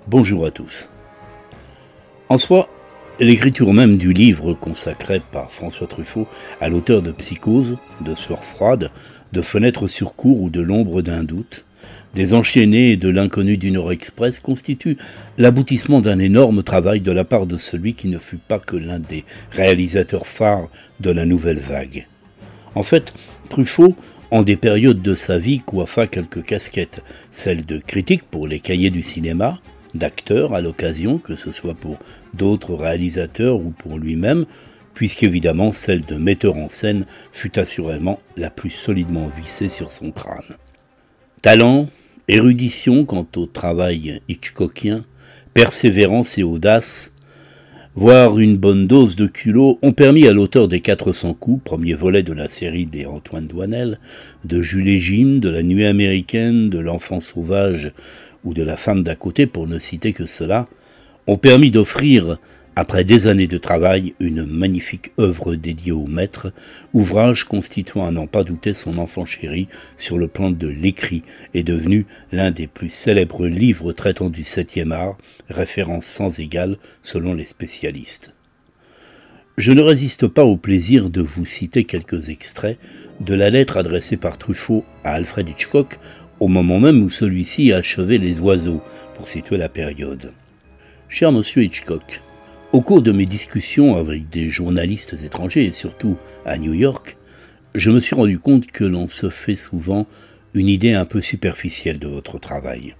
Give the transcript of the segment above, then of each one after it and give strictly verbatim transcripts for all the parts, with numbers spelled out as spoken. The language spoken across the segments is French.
Bonjour à tous. En soi, l'écriture même du livre consacré par François Truffaut à l'auteur de Psychose, de Sueur froide, de Fenêtre sur cour ou de L'ombre d'un doute, des Enchaînés et de L'inconnu du Nord Express constitue l'aboutissement d'un énorme travail de la part de celui qui ne fut pas que l'un des réalisateurs phares de la nouvelle vague. En fait, Truffaut, en des périodes de sa vie, coiffa quelques casquettes, celle de critique pour les cahiers du cinéma, d'acteur à l'occasion, que ce soit pour d'autres réalisateurs ou pour lui-même, puisqu'évidemment celle de metteur en scène fut assurément la plus solidement vissée sur son crâne. Talent, érudition quant au travail hitchcockien, persévérance et audace, voire une bonne dose de culot, ont permis à l'auteur des quatre cents coups, premier volet de la série des Antoine Doinel, de Jules et Jim, de La Nuit américaine, de L'Enfant sauvage ou de La femme d'à côté, pour ne citer que cela, ont permis d'offrir, après des années de travail, une magnifique œuvre dédiée au maître, ouvrage constituant à n'en pas douter son enfant chéri sur le plan de l'écrit, est devenu l'un des plus célèbres livres traitant du septième art, référence sans égale selon les spécialistes. Je ne résiste pas au plaisir de vous citer quelques extraits de la lettre adressée par Truffaut à Alfred Hitchcock au moment même où celui-ci achevait Les Oiseaux, pour situer la période. Cher monsieur Hitchcock, au cours de mes discussions avec des journalistes étrangers, et surtout à New York, je me suis rendu compte que l'on se fait souvent une idée un peu superficielle de votre travail.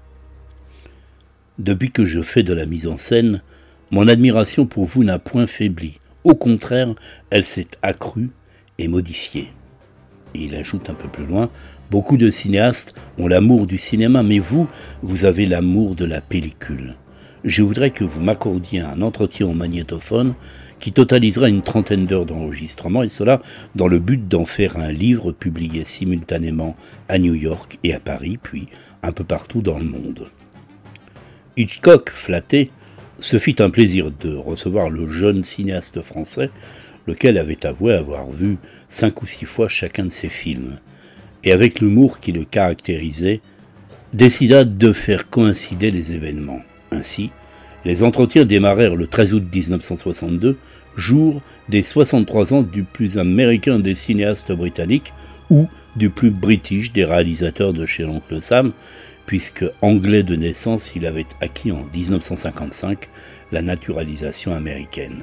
Depuis que je fais de la mise en scène, mon admiration pour vous n'a point faibli. Au contraire, elle s'est accrue et modifiée. Et il ajoute un peu plus loin, beaucoup de cinéastes ont l'amour du cinéma, mais vous, vous avez l'amour de la pellicule. Je voudrais que vous m'accordiez un entretien au magnétophone qui totalisera une trentaine d'heures d'enregistrement, et cela dans le but d'en faire un livre publié simultanément à New York et à Paris, puis un peu partout dans le monde. Hitchcock, flatté, se fit un plaisir de recevoir le jeune cinéaste français, lequel avait avoué avoir vu cinq ou six fois chacun de ses films, et avec l'humour qui le caractérisait, décida de faire coïncider les événements. Ainsi, les entretiens démarrèrent le treize août dix-neuf cent soixante-deux, jour des soixante-trois ans du plus américain des cinéastes britanniques ou du plus british des réalisateurs de chez l'oncle Sam, puisque anglais de naissance, il avait acquis en dix-neuf cent cinquante-cinq la naturalisation américaine.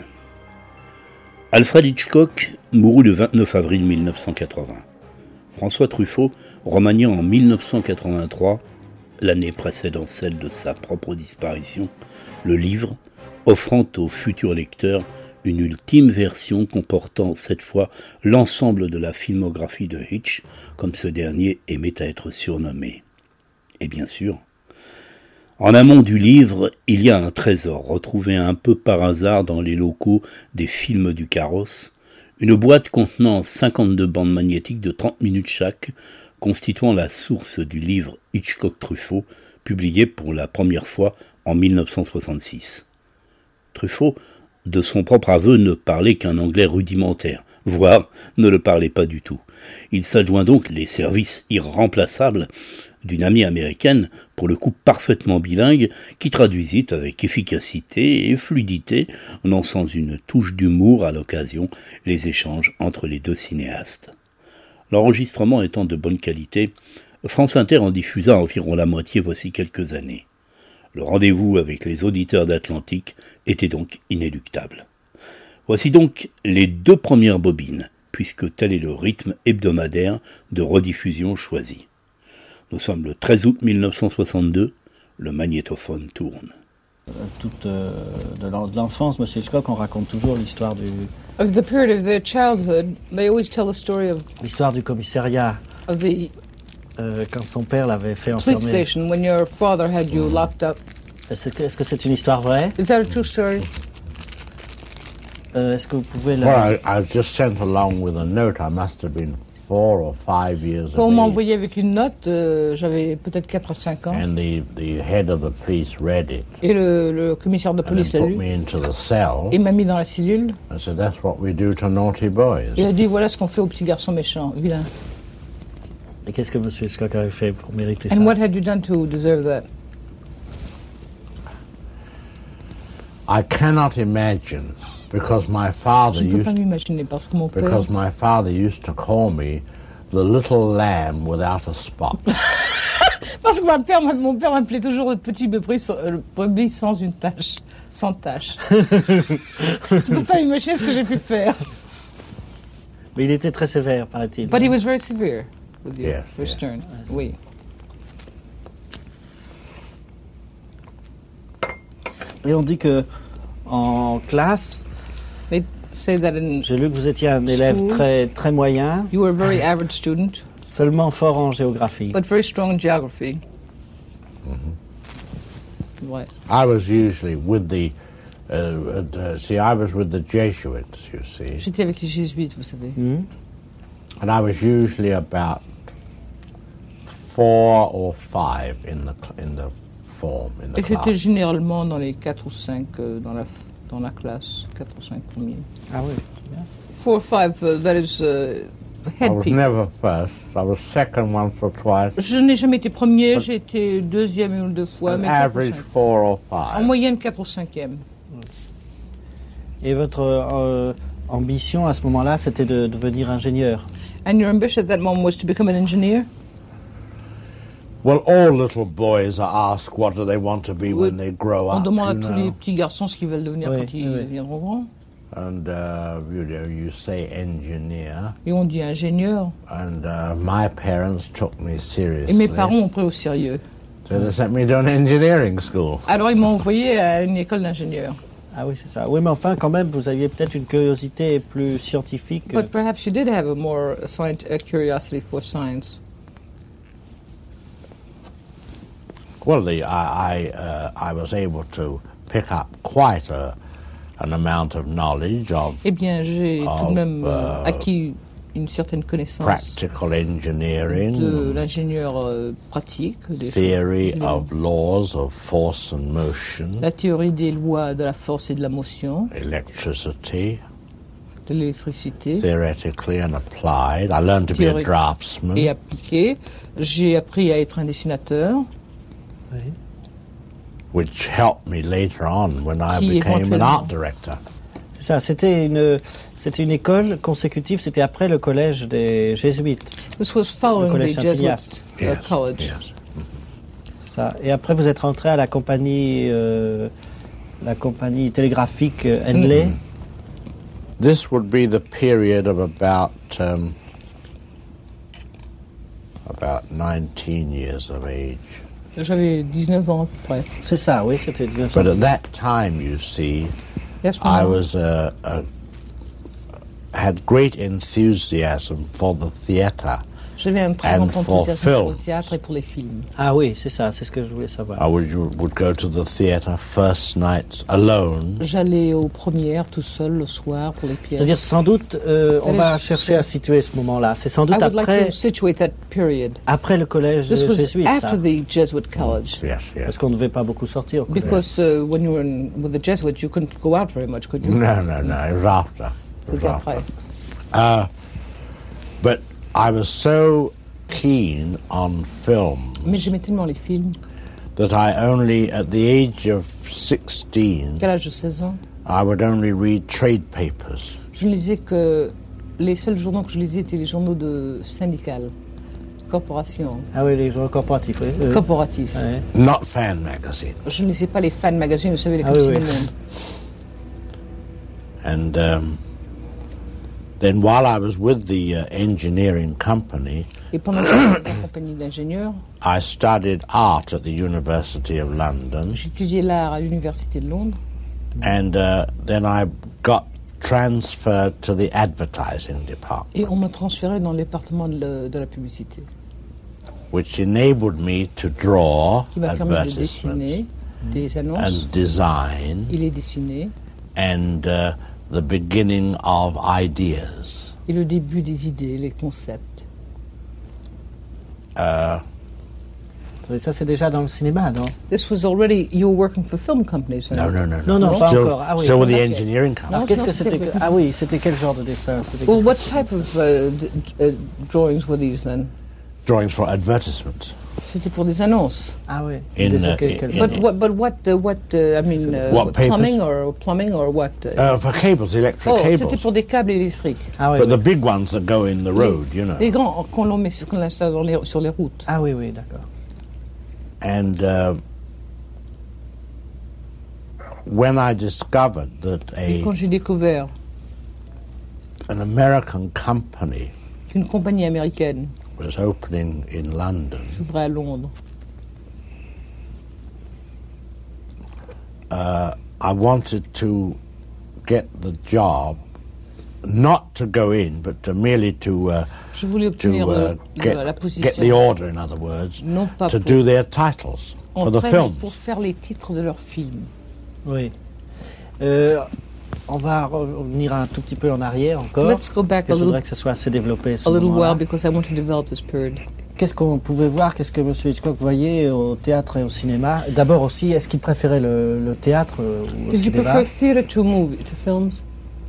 Alfred Hitchcock mourut le vingt-neuf avril mille neuf cent quatre-vingts. François Truffaut remania en mille neuf cent quatre-vingt-trois, l'année précédant celle de sa propre disparition, le livre, offrant au futur lecteur une ultime version comportant cette fois l'ensemble de la filmographie de Hitch, comme ce dernier aimait à être surnommé. Et bien sûr, en amont du livre, il y a un trésor retrouvé un peu par hasard dans les locaux des films du Carrosse, une boîte contenant cinquante-deux bandes magnétiques de trente minutes chaque, constituant la source du livre Hitchcock-Truffaut, publié pour la première fois en mille neuf cent soixante-six. Truffaut, de son propre aveu, ne parlait qu'un anglais rudimentaire, voire ne le parlait pas du tout. Il s'adjoint donc les services irremplaçables d'une amie américaine, pour le coup parfaitement bilingue, qui traduisit avec efficacité et fluidité, non sans une touche d'humour à l'occasion, les échanges entre les deux cinéastes. L'enregistrement étant de bonne qualité, France Inter en diffusa environ la moitié voici quelques années. Le rendez-vous avec les auditeurs d'Atlantique était donc inéluctable. Voici donc les deux premières bobines, puisque tel est le rythme hebdomadaire de rediffusion choisi. Nous sommes le treize août mille neuf cent soixante-deux, le magnétophone tourne. Toute euh, de l'enfance, M. Hitchcock, on raconte toujours l'histoire du... Of the period of their childhood, they always tell the story of... L'histoire du commissariat. Of the... Euh, quand son père l'avait fait enfermer. Police station, when your father had you locked up. Est-ce que, est-ce que c'est une histoire vraie? Is that a true story? Euh, est-ce que vous pouvez la... Well, I, I was just sent along with a note. I must have been four or five years On m'a of age. envoyé avec une note, euh, j'avais peut-être quatre à cinq ans. And the, the head of the police read it. Et le, le commissaire de And police then l'a put lu. me into the cell. Il m'a mis dans la cellule. I said, that's what we do to naughty boys. Il a dit, voilà ce qu'on fait aux petits garçons méchants, vilains. Et qu'est-ce que M. Hitchcock avait fait pour mériter ça? And what had you done to deserve that? I cannot imagine because my father Je ne peux used pas m'imaginer parce que mon père, because my father used to call me the little lamb without a spot. parce que ma père, mon père m'appelait toujours le petit brebis sans, euh, brebis sans une tache, sans tache. Tu peux pas imaginer ce que j'ai pu faire. Mais il était très sévère, paraît-il. But he was very severe with you, Yes, very yes. stern. Oui. Et on dit que en classe, They say that in j'ai lu que vous étiez un élève School. très très moyen, you were a very average student, seulement fort en géographie. but very strong in geography. Ouais. I was usually with the, uh, uh, see, I was with the Jesuits, you see, J'étais avec les jésuites, vous savez. Mhm. and I was usually about four or five in the cl- in the form in the Et j'étais class. généralement dans les quatre ou cinq euh, dans la dans la classe, quatre ou cinq premiers. Ah oui. Four or five, uh, that is uh, I head was people. never first. I was second once or twice. Je n'ai jamais été premier, j'ai été deuxième une ou deux fois, An mais quatre ou average cinq. four or En five. moyenne quatre ou cinquième. Et votre euh, ambition à ce moment-là, c'était de devenir ingénieur. And your ambition at that moment was to become an engineer? Well, all little boys are asked what do they want to be when they grow On up, demande à you tous les know. petits garçons ce qu'ils veulent devenir Oui, quand ils oui. deviendront grands. And uh, you know, you say engineer, Et on dit ingénieur. and uh, my parents took me seriously. Et mes parents ont pris au sérieux. So they sent me to an engineering school. Alors ils m'ont envoyé à une école d'ingénieur. Ah oui, c'est ça. Oui, mais enfin, quand même, vous aviez peut-être une curiosité plus scientifique. But perhaps you did have a more scient- a curiosity for science. Well, the, I I, uh, I was able to pick up quite a, an amount of knowledge of Eh bien, j'ai tout Oh, de même euh, euh, acquis une certaine connaissance practical de engineering, l'ingénieur euh, pratique, des theory choses- of laws of force and motion, la théorie des lois de la force et de la motion, electricity, de l'électricité, theoretically and applied. I learned to be a Théorique draftsman. et appliquée. J'ai appris à être un dessinateur, which helped me later on when I Qui became an éventuellement- art director. C'est ça, c'était une, c'était une école consécutive, c'était après le collège des jésuites. This was following collège the Saint-Ignace. Jesuit uh, Yes, college. yes. C'est ça. Et après, vous êtes rentré à la compagnie, euh, la compagnie télégraphique euh, Henley. Mm-hmm. This would be the period of about um, about nineteen years of age. J'avais dix-neuf ans à peu près. C'est ça, oui, c'était dix-neuf cent. But at that time, you see, Et à ce I moment, was uh, uh, had great enthusiasm for the theatre. j'avais un très and grand for enthousiasme pour le film. théâtre et pour les films. Ah oui, c'est ça, c'est ce que je voulais savoir. I would would go to the theatre first nights alone. J'allais aux premières tout seul le soir pour les pièces. C'est-à-dire, sans doute, euh, on That va is- chercher à situer ce moment-là. C'est sans I doute would like après, to situate that period. après le collège This was jésuite, ça. after the Jesuit college. Yes, yes. Parce qu'on ne devait pas beaucoup sortir au collège. Because uh, when you were in, with the Jesuits, you couldn't go out very much, could you? No, no, no. It was after. It was C'était after. après. Uh, but I was so keen on film Mais j'aimais tellement les films that I only, at the age of sixteen, qu'à l'âge de seize ans, I would only read trade papers. je ne lisais que... Les seuls journaux que je lisais étaient les journaux de syndicales, corporations, Ah oui, les journaux corporatifs, oui. Euh, corporatifs. ouais. Not fan magazines. Je ne lisais pas les fan magazines, vous savez, les Ah comme oui, si oui. le monde. And um, then while I was with the uh, engineering company, Et pendant que j'étais dans la compagnie d'ingénieurs, I studied art at the University of London. j'étudiais l'art à l'université de Londres. And uh, then I got transferred to the advertising department, Et on m'a transféré dans le département de, la- de la publicité, which enabled me to draw qui m'a permis de advertisements dessiner des annonces. and design Il est dessiné. and uh, the beginning of ideas. Et le début des idées, les concepts. Uh, Et ça, c'est déjà dans le cinéma, non? This was already, you were working for film companies. then? no, no, no, Non, non, pas Still, encore. Ah oui. still with the Ok. engineering company. Alors, qu'est-ce non, que c'était c'était- que... Ah oui, c'était quel genre de dessin? C'était Well, quel- what type of uh, d- uh, drawings were these then? Drawings for advertisements. C'était pour des annonces. Ah oui. In, Des- uh, quel- quel- in- But what? But what? Uh, what? Uh, I mean, uh, What papers? plumbing or plumbing or what? uh, Uh, for cables, electric oh, c'était cables. pour des câbles électriques. Ah oui, But oui. the big ones that go in the road, you know. Les grands qu'on l'on met sur, qu'on installe dans les- sur les routes. Ah oui, oui, d'accord. And uh, when I discovered that Et a quand j'ai découvert an American company qu'une compagnie américaine was opening in London, s'ouvrait à Londres, uh, I wanted to get the job, not to go in, but to merely to uh, je voulais to obtenir uh, le- le- get, la get position. the order, in other words, Non pas to pour, do their titles en for the fait, mais films. pour faire les titres de leurs films. Oui. Euh, on va revenir un tout petit peu en arrière encore. Let's go back Parce que a je voudrais little, que ça soit assez développé. ce a little moment-là. while because I want to develop this period. Qu'est-ce qu'on pouvait voir, qu'est-ce que M. Hitchcock voyait au théâtre et au cinéma? D'abord aussi, est-ce qu'il préférait le, le théâtre euh, ou au Did you cinéma? prefer theatre to movie to films?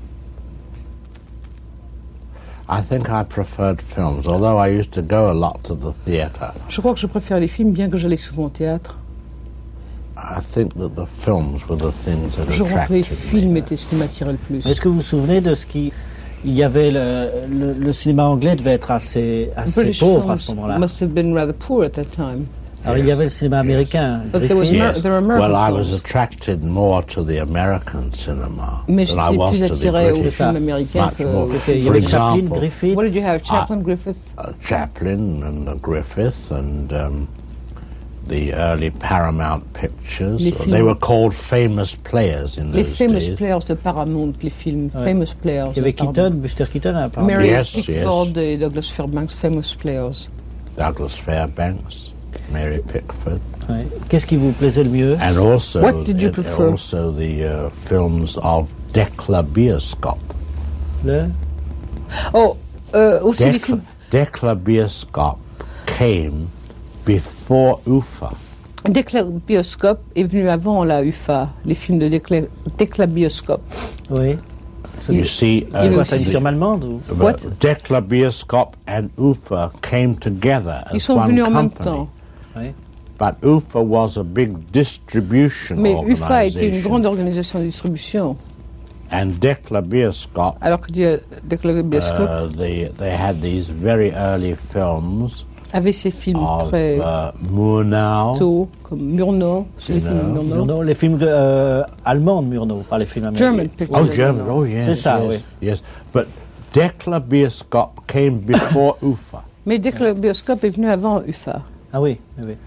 I think I preferred films, although I used to go a lot to the theatre. Je crois que je préfère les films, bien que j'allais souvent au théâtre. I think that the films were the things that Je crois que les attracted films me. étaient ce qui m'attirait le plus. Est-ce que vous vous souvenez de ce qui... Il y avait le, le, le cinéma anglais devait être assez, assez British pauvre à ce films moment-là. must have been rather poor at that time. Alors il y avait le cinéma américain, But there was Griffith. Amer- there were American Well, I was films. attracted more to the American cinema Mais than I j'étais was plus to the attiré aux British. ça. films américains Much que... more. Parce qu'il y For avait Chaplin, example, Griffith. What did you have? Chaplin, Griffith? Uh, Chaplin and uh, Griffith and um, the early Paramount pictures. Les Uh, films- They were called famous players in Les those famous days. players de Paramount, les films Ouais. famous players. Il y avait de Paramount. Keaton, Buster Keaton, apparemment. Mary Yes, Pickford yes. et Douglas Fairbanks, famous players. Douglas Fairbanks, Mary Pickford, Ouais. Qu'est-ce qui vous plaisait le mieux? and also What did you and prefer? also the uh, films of Decla Bioskop. Le... Oh, euh, aussi les Decla, films... Decla Bioskop came before U F A. Déclabioscope est venu avant la U F A, les films de Décla- Déclabioscope. Oui. You see, Il y Quoi, avait c'est une aussi- firme allemande ou... but What? Decla Bioskop and U F A came together Ils as sont one venus en même company. temps. But U F A was a big distribution Mais U F A était une organization, grande organisation de distribution. and Decla Bioskop, Alors que Dé- Déclabioscope uh, they they had these very early films avait ses films of très uh, Murnau. tôt, comme Murnau, c'est les films de Murnau. Murnau. Murnau, les films de, euh, allemands de Murnau, pas les films américains. German pictures. Oh, of German. Murnau. Oh, yes. C'est ça, yes, oui. yes. But Decla Bioskop came before U F A. Mais Déclabioscope est venu avant U F A. Ah oui, oui, oui.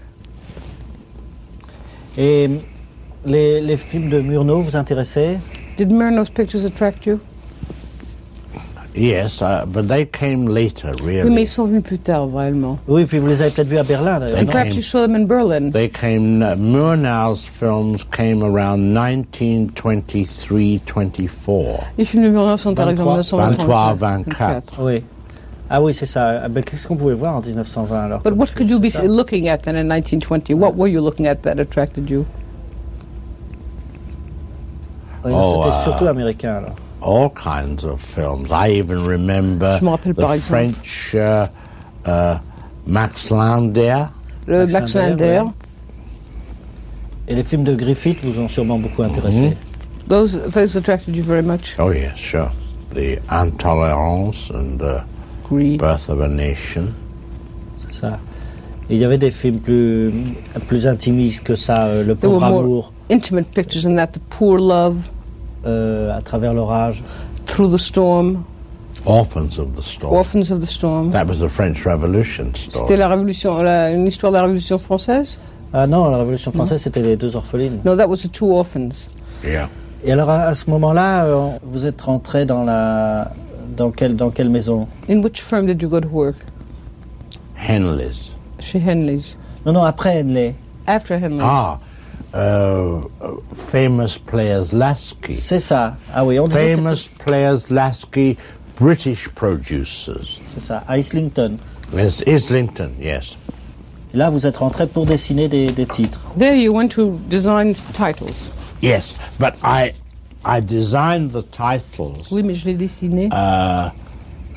Et les, les films de Murnau vous intéressaient? Did Murnau's pictures attract you? Yes, uh, but they came later, Oui, mais really. ils sont venus plus tard, vraiment. Oui, puis vous les avez peut-être vus à Berlin, d'ailleurs, They And non? perhaps you saw them in Berlin. They came, uh, Murnau's films came around nineteen twenty-three twenty-four. Les films de Murnau sont arrivés en vingt-trois, vingt-trois, vingt-quatre. vingt-quatre. Oui. Ah oui, c'est ça. Ah ben, qu'est-ce qu'on pouvait voir en dix-neuf cent vingt alors? But comme what film? could you be Ça. looking at then in nineteen twenty? What were you looking at that attracted you? Oui, Oh, c'était euh, surtout américain alors. All kinds of films. I even remember Je me rappelle par the exemple. French uh, uh, Max Landau. Le Max Max Landau, Lander. ouais. Et les films de Griffith vous ont sûrement beaucoup intéressé. Mhm. Those, those attracted you very much. Oh yes, sure. The Intolerance and uh, Greed. Birth of a Nation. C'est ça. Et il y avait des films plus, plus intimistes que ça, euh, Le There were pauvre more- amour, Intimate pictures in that, The Poor Love, euh, À travers l'orage. Through the Storm, Orphans of the Storm. Orphans of the Storm. That was the French Revolution C'était story. la révolution, la, une histoire de la Révolution française? Ah non, la Révolution française, c'était les deux orphelines. No, that was the Two Orphans. Yeah. Et alors, à, à ce moment-là, euh, vous êtes rentré dans la... Dans quelle, dans quelle maison? In which firm did you go to work? Henley's. Chez Henley's. Non, non, après Henley. After Henley. Ah, uh, uh, Famous Players Lasky. C'est ça. Ah oui, on disait que Famous Players Lasky, British producers. c'est ça, à Islington. Yes, Islington, yes. Et là, vous êtes rentré pour dessiner des, des titres. There you went to design titles. Yes, but I I designed the titles Oui, mais je l'ai dessiné uh,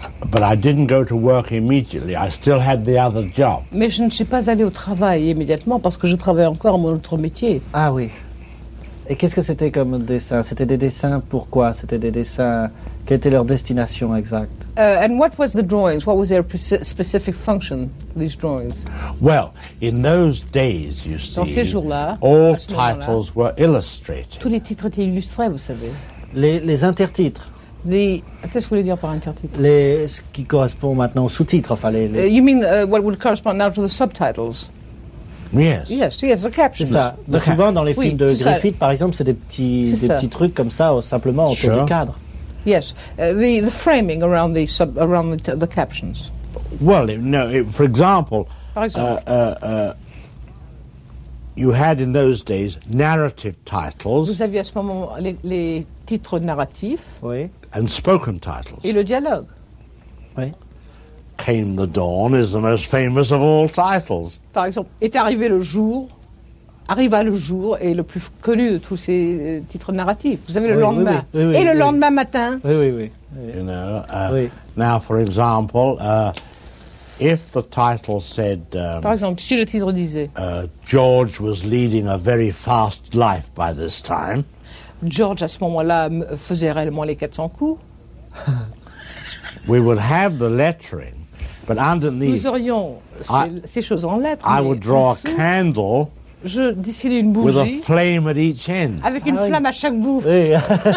but I didn't go to work immediately. I still had the other job. Mais je ne suis pas allée au travail immédiatement parce que je travaillais encore mon autre métier. Ah oui. Et qu'est-ce que c'était comme dessin? C'était des dessins pourquoi? C'était des dessins... Quelle était leur destination exacte? Uh, and what was the drawings? What was their pre- specific function, these drawings? Well, in those days, you Dans ces see, jours-là, all à ce moment-là, titles were illustrated. tous les titres étaient illustrés, vous savez. Les, les intertitres. The, qu'est-ce que vous voulez dire par intertitre? Les, ce qui correspond maintenant aux sous-titres, enfin les... les... Uh, you mean uh, what would correspond now to the subtitles? Yes. Yes, yes, the C'est captions. ça. Mais The souvent dans les Oui, films de c'est ça. Griffith, par exemple, c'est des petits, C'est des ça. petits trucs comme ça, euh, simplement autour Sure. du cadre. Yes, uh, the the framing around the sub around the, the captions. Well, it, no. It, for example, Par uh, exemple, uh, uh, you had in those days narrative titles vous aviez à ce moment les, les titres narratifs Oui. and spoken titles. et le dialogue. Came the Dawn is the most famous of all titles. Par exemple, est arrivé le jour, arriva le jour est le plus connu de tous ces euh, titres narratifs. Vous avez le Oui, lendemain. oui, oui, oui, et le oui. lendemain matin. Oui, oui, oui. oui. You know. Uh, Oui. Now, for example, uh, if the title said um, Par exemple, si le titre disait uh, George was leading a very fast life by this time, George à ce moment-là m- faisait réellement les quatre cents coups, we would have the lettering, but underneath nous aurions Ah. ces, ces choses en lettres. I mais would en draw a dessous, candle je dessinais une with a bougie flame at each end. avec une Ah oui. flamme à chaque bout. Oui,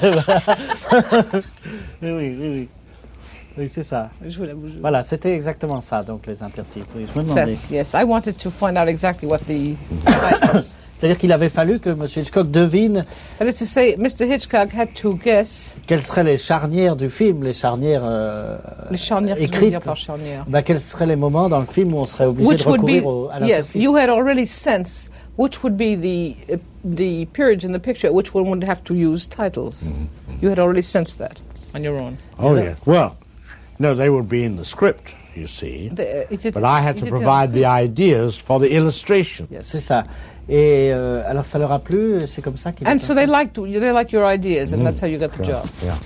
oui, oui, oui, oui. Oui, c'est ça. Je veux la bougie. Voilà, c'était exactement ça, donc les intertitres. Oui, je me demandais. That's, yes, I wanted to find out exactly what the titles. C'est-à-dire qu'il avait fallu que M. Hitchcock devine That is to say, Mister Hitchcock had to guess quelles seraient les charnières du film, les charnières euh, les charnières. Qu'est-ce que vous voulez dire écrites. par charnière? Bah, quels seraient les moments dans le film où on serait obligé Which de would be recourir au, à yes, l'intertitre. you had already sensed which would be the uh, the periods in the picture at which one would have to use titles. You had already sensed that on your own. Oh, yeah. Well, no, they would be in the script, you see. The, uh, is it, But I had is to it provide the ideas for the illustration. Yes. C'est ça. Et euh, alors ça leur a plu, c'est comme ça qu'ils And ont so fait. they liked they liked your ideas, and that's how you got the Yeah. job. Yeah.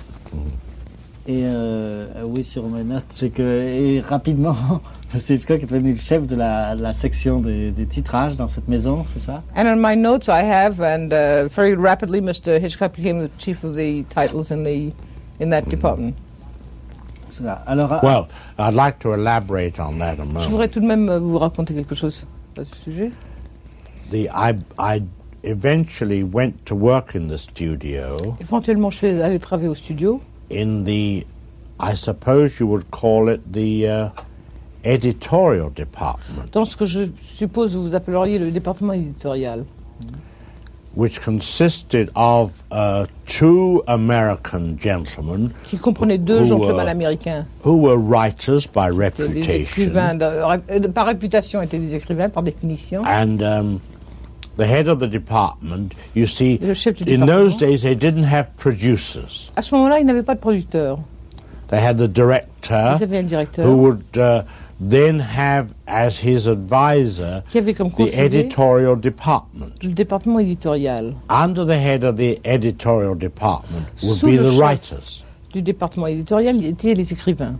Et euh, oui, sur mes notes, c'est que et rapidement, M. Hitchcock est devenu le chef de la, de la section des, des titrages dans cette maison, c'est ça? And on my notes I have, and uh, very rapidly, Mister Hitchcock became the chief of the titles in the in that department. C'est ça. Alors, euh, Well, I'd like to elaborate on that a Je moment. voudrais tout de même euh, vous raconter quelque chose à ce sujet. The I I eventually went to work in the studio Éventuellement, je suis allé travailler au studio. in the, I suppose you would call it the uh, editorial department, Dans ce que je suppose vous appelleriez le département éditorial, which consisted of uh, two American gentlemen qui comprenait deux Who, gentlemen uh, américains, who were writers by étaient des écrivains, reputation, de- euh, par réputation étaient des écrivains, par définition. and um, the head of the department. You see, Le chef du in those département. days they didn't have producers. À ce moment-là, ils n'avaient pas de producteur. They had the director, Ils avaient un who directeur would uh, then have as his advisor qui avait comme the conseiller editorial department. le département éditorial. Under the head of the editorial department would Sous be le the chef. writers. Du département éditorial, il étaient les écrivains,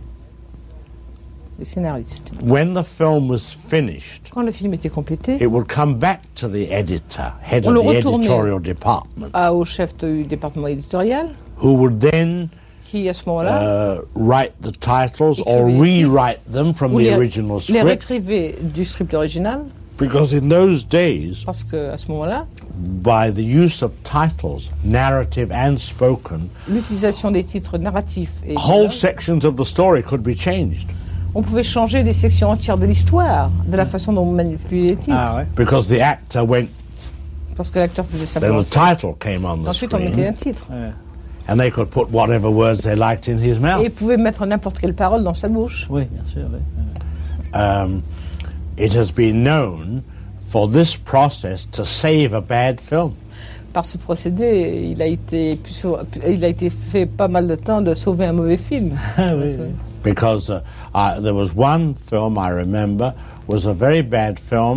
les scénaristes. When the film was finished, Quand le film était complété, it would come back to the editor, head On of le the retournait. editorial department, à- au chef du département éditorial, who would then qui à ce moment-là uh, write the titles or Écrivait- rewrite them from ou the les, original les script. réécrivait du script original, Because in those days, parce que à ce moment-là, by the use of titles, narrative and spoken, l'utilisation des titres narratifs et whole dialogues, sections of the story could be changed on pouvait changer des sections entières de l'histoire, de la façon dont on manipulait les titres, ah ouais. because the actor went, parce que l'acteur faisait then simplement the ça. title came on the Ensuite, on mettait un screen, titre. Ouais. and they could put whatever words they liked in his Et mouth. il pouvait mettre n'importe quelle parole dans sa bouche. Oui, bien sûr. Oui. Um, it has been known for this process to save a bad film. Par ce procédé, il a été, pu sau- il a été fait pas mal de temps de sauver un mauvais film. Ah oui, oui. Because uh, uh, there was one film I remember was a very bad film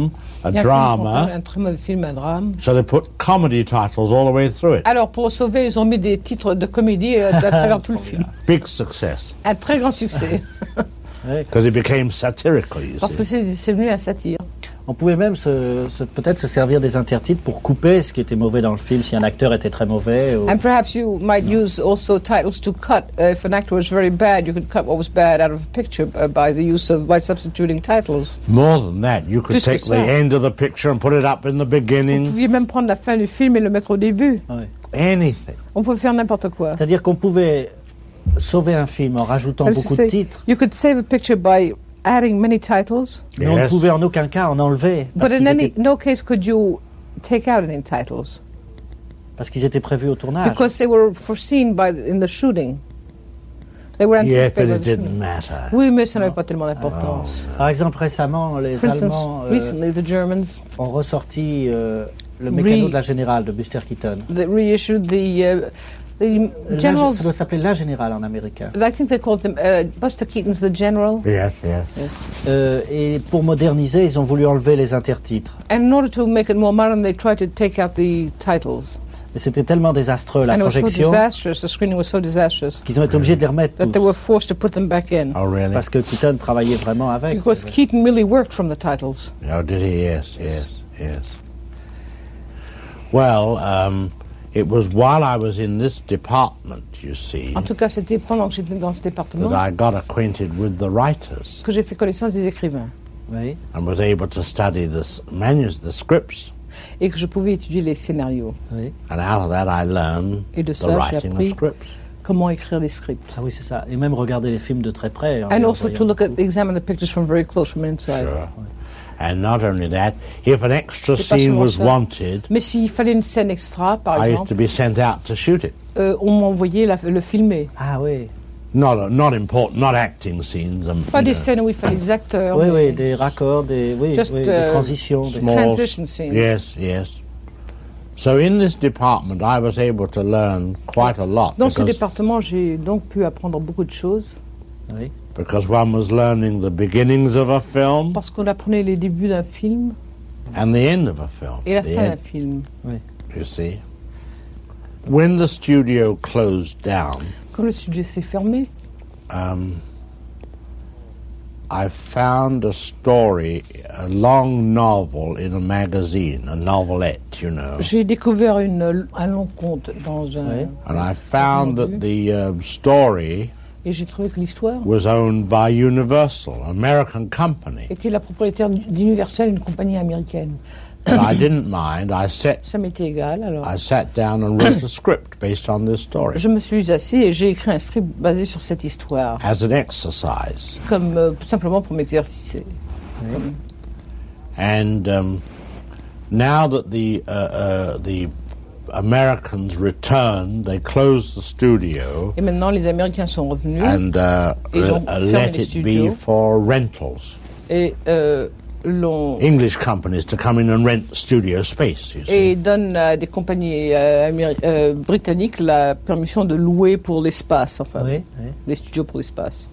a Il y a un film qu'on drama, appelle un très mauvais film, un drame. so they put comedy titles all the way through it. Alors, pour le sauver, ils ont mis des titres de comédie euh, à travers tout le film. Big success, Un très grand succès. Ouais. because it became satirical, you Parce que see. c'est c'est devenu un satire. On pouvait même se, se- peut-être se servir des intertitres pour couper ce qui était mauvais dans le film, si un acteur était très mauvais. Ou... And perhaps you might use also titles to cut. Uh, if an actor was very bad, you could cut what was bad out of a picture uh, by the use of, by substituting titles. More than that, you could Plus que take the ça. end of the picture and put it up in the Vous beginning. pouviez même prendre la fin du film et le mettre au début. Ouais. Anything. On pouvait faire n'importe quoi. C'est-à-dire qu'on pouvait sauver un film en rajoutant Alors, beaucoup c'est- de titres, You could save a picture by adding many titles, mais on ne Yes. pouvait en aucun cas en enlever parce but in qu'ils any étaient, no case could you take out any titles parce qu'ils étaient prévus au tournage. because they were foreseen by the, in the shooting. They were Yeah, anticipated but by it the didn't shooting. matter. Oui, mais ça n'avait pas tellement d'importance. Par exemple, récemment, les For instance, Allemands euh, recently the Germans ont ressorti euh, le mécano Re- de la Générale de Buster Keaton. they reissued the uh, the La- generals. ça doit s'appeler La Générale en américain. I think they called them uh, Buster Keaton's the General. Yes, yes. Euh, et pour moderniser, ils ont voulu enlever les intertitres. And in order to make it more modern, they tried to take out the titles. Et c'était tellement désastreux la and it was so projection disastrous. The screening was so disastrous qu'ils ont été obligés de les remettre that tous, they were forced to put them back in Oh, really? parce que Keaton travaillait vraiment avec. because Keaton really worked from the titles. Oh, did he? Yes, yes, yes. Well, um, it was while I was in this department, you see, En tout cas, c'était pendant que j'étais dans ce département that I got acquainted with the writers que j'ai fait connaissance des écrivains Oui. and was able to study the s- manus, the scripts, et que je pouvais étudier les scénarios. Oui. and out of that I learned Et de the ça, j'ai writing of appris scripts. comment écrire les scripts. Ah oui, c'est ça. Et même regarder les films de très près. en And les also revoyant to look at, beaucoup. examine the pictures from very close, from inside. Sure. And not only that, if an extra C'est pas scene seulement was ça. wanted, Mais s'il fallait une scène extra, par I used to exemple, be sent out to shoot it. euh, on m'envoyait la- le filmer. Ah oui. Not not important, not acting scenes. Um, Pas you des know, scènes où il fallait des acteurs. Oui, mais oui, des raccords, des, oui, Just, oui, des euh, transitions. des- small- transition scenes. Yes, yes. So in this department, I was able to learn quite a lot Dans ce because, département, j'ai donc pu apprendre beaucoup de choses Oui. because one was learning the beginnings of a film parce qu'on apprenait les débuts d'un film and the end of a film. et la the fin d'un end, film. you see. When the studio closed down, Quand le studio s'est fermé, um, I found a story, a long novel in a magazine, a novelette, you know. j'ai découvert une, un long conte dans un... Oui. And I found that the uh, story Et j'ai trouvé que l'histoire was owned by Universal, an American company. était la propriétaire d'Universal, une compagnie américaine. But I didn't mind. I sat, Ça m'était égal, alors I sat down and wrote a script based on this story je me suis assis et j'ai écrit un script basé sur cette histoire, as an exercise. comme euh, simplement pour m'exercer. And um, now that the uh, uh, the Americans returned, they closed the studio Et maintenant, les Américains sont revenus and uh, Ils ont uh, fermé let les it studios. be for rentals. et euh, l'ont English companies to come in and rent studio space. You see. et donnent à des compagnies euh, améri- euh, britanniques la permission de louer pour l'espace, enfin, Oui, oui. des studios pour l'espace.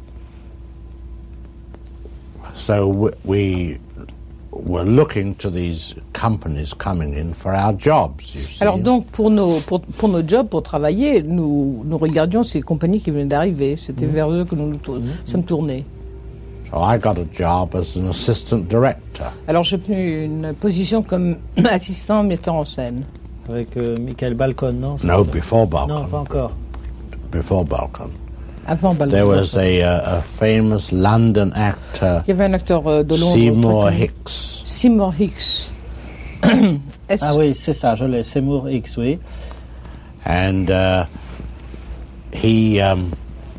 So w- we were looking to these companies coming in for our jobs, you see. Alors donc, pour nos, pour, pour nos jobs, pour travailler, nous, nous regardions ces compagnies qui venaient d'arriver. C'était vers eux que nous nous tour- sommes tournés. So I got a job as an assistant director. Alors j'ai obtenu une position comme assistant metteur en scène. Avec euh, Michael Balcon, non No, before Non, pas Balcon. encore. Before Balcon. Avant Balcon. There was a, uh, a famous London actor, Il y avait un acteur euh, de Londres. Seymour très connu. Hicks. Seymour Hicks. Est-ce- Ah oui, c'est ça, je l'ai, Seymour X, oui. And uh, he um,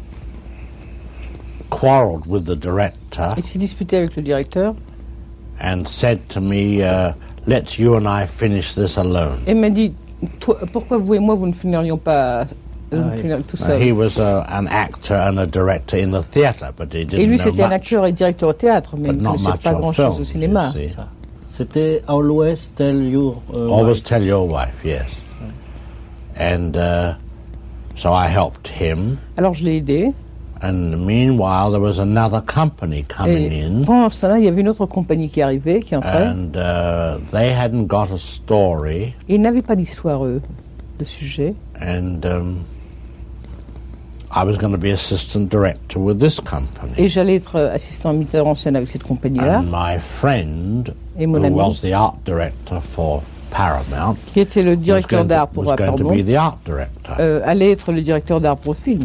quarreled with the director Il s'est disputé avec le directeur and said to me, uh, let's you and I finish this alone. et m'a dit Toi, pourquoi vous et moi vous ne finirions pas euh, Ah oui. finir tout Now, seul. he was uh, an actor and a director in the theatre, but he Et didn't lui know c'était un much. acteur et directeur au théâtre, mais But il ne not connaissait much pas of grand chose film, au cinéma. you see. Ça. C'était Always Tell Your uh, Always Wife. tell your wife, yes. And uh, so I helped him, Alors je l'ai aidé And meanwhile, there was another company coming Et in, pendant ce temps-là, il y avait une autre compagnie qui arrivait, qui entrait. and uh, they hadn't got a story, Et ils n'avaient pas d'histoire, eux, de sujet. and um, I was going to be assistant director with this company. Et j'allais être assistant metteur en scène avec cette compagnie-là. And my friend, Et mon who ami, was the art director for Paramount, qui était le was directeur going, d'art to, pour was going to Paramount, be the art director. euh, allait être le directeur d'art pour le film.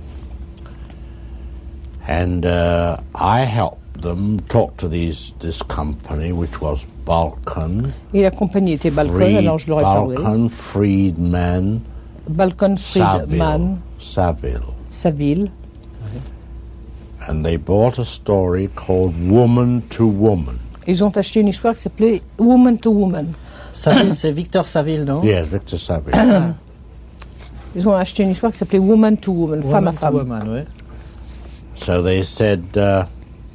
And uh, I helped them talk to these this company, which was Balkan, Et la compagnie était Balkan, Fried, alors je leur ai parlé. Balkan, Friedman, Balkan Saville, Friedman, Saville. Saville. And they bought a story called Woman to Woman. Ils ont acheté une histoire qui s'appelait Woman to Woman. Saville, c'est Victor Saville, non? Yes, Victor Saville. Ils ont acheté une histoire qui s'appelait Woman to Woman, femme à Woman to femme. woman, ouais. So they said, uh,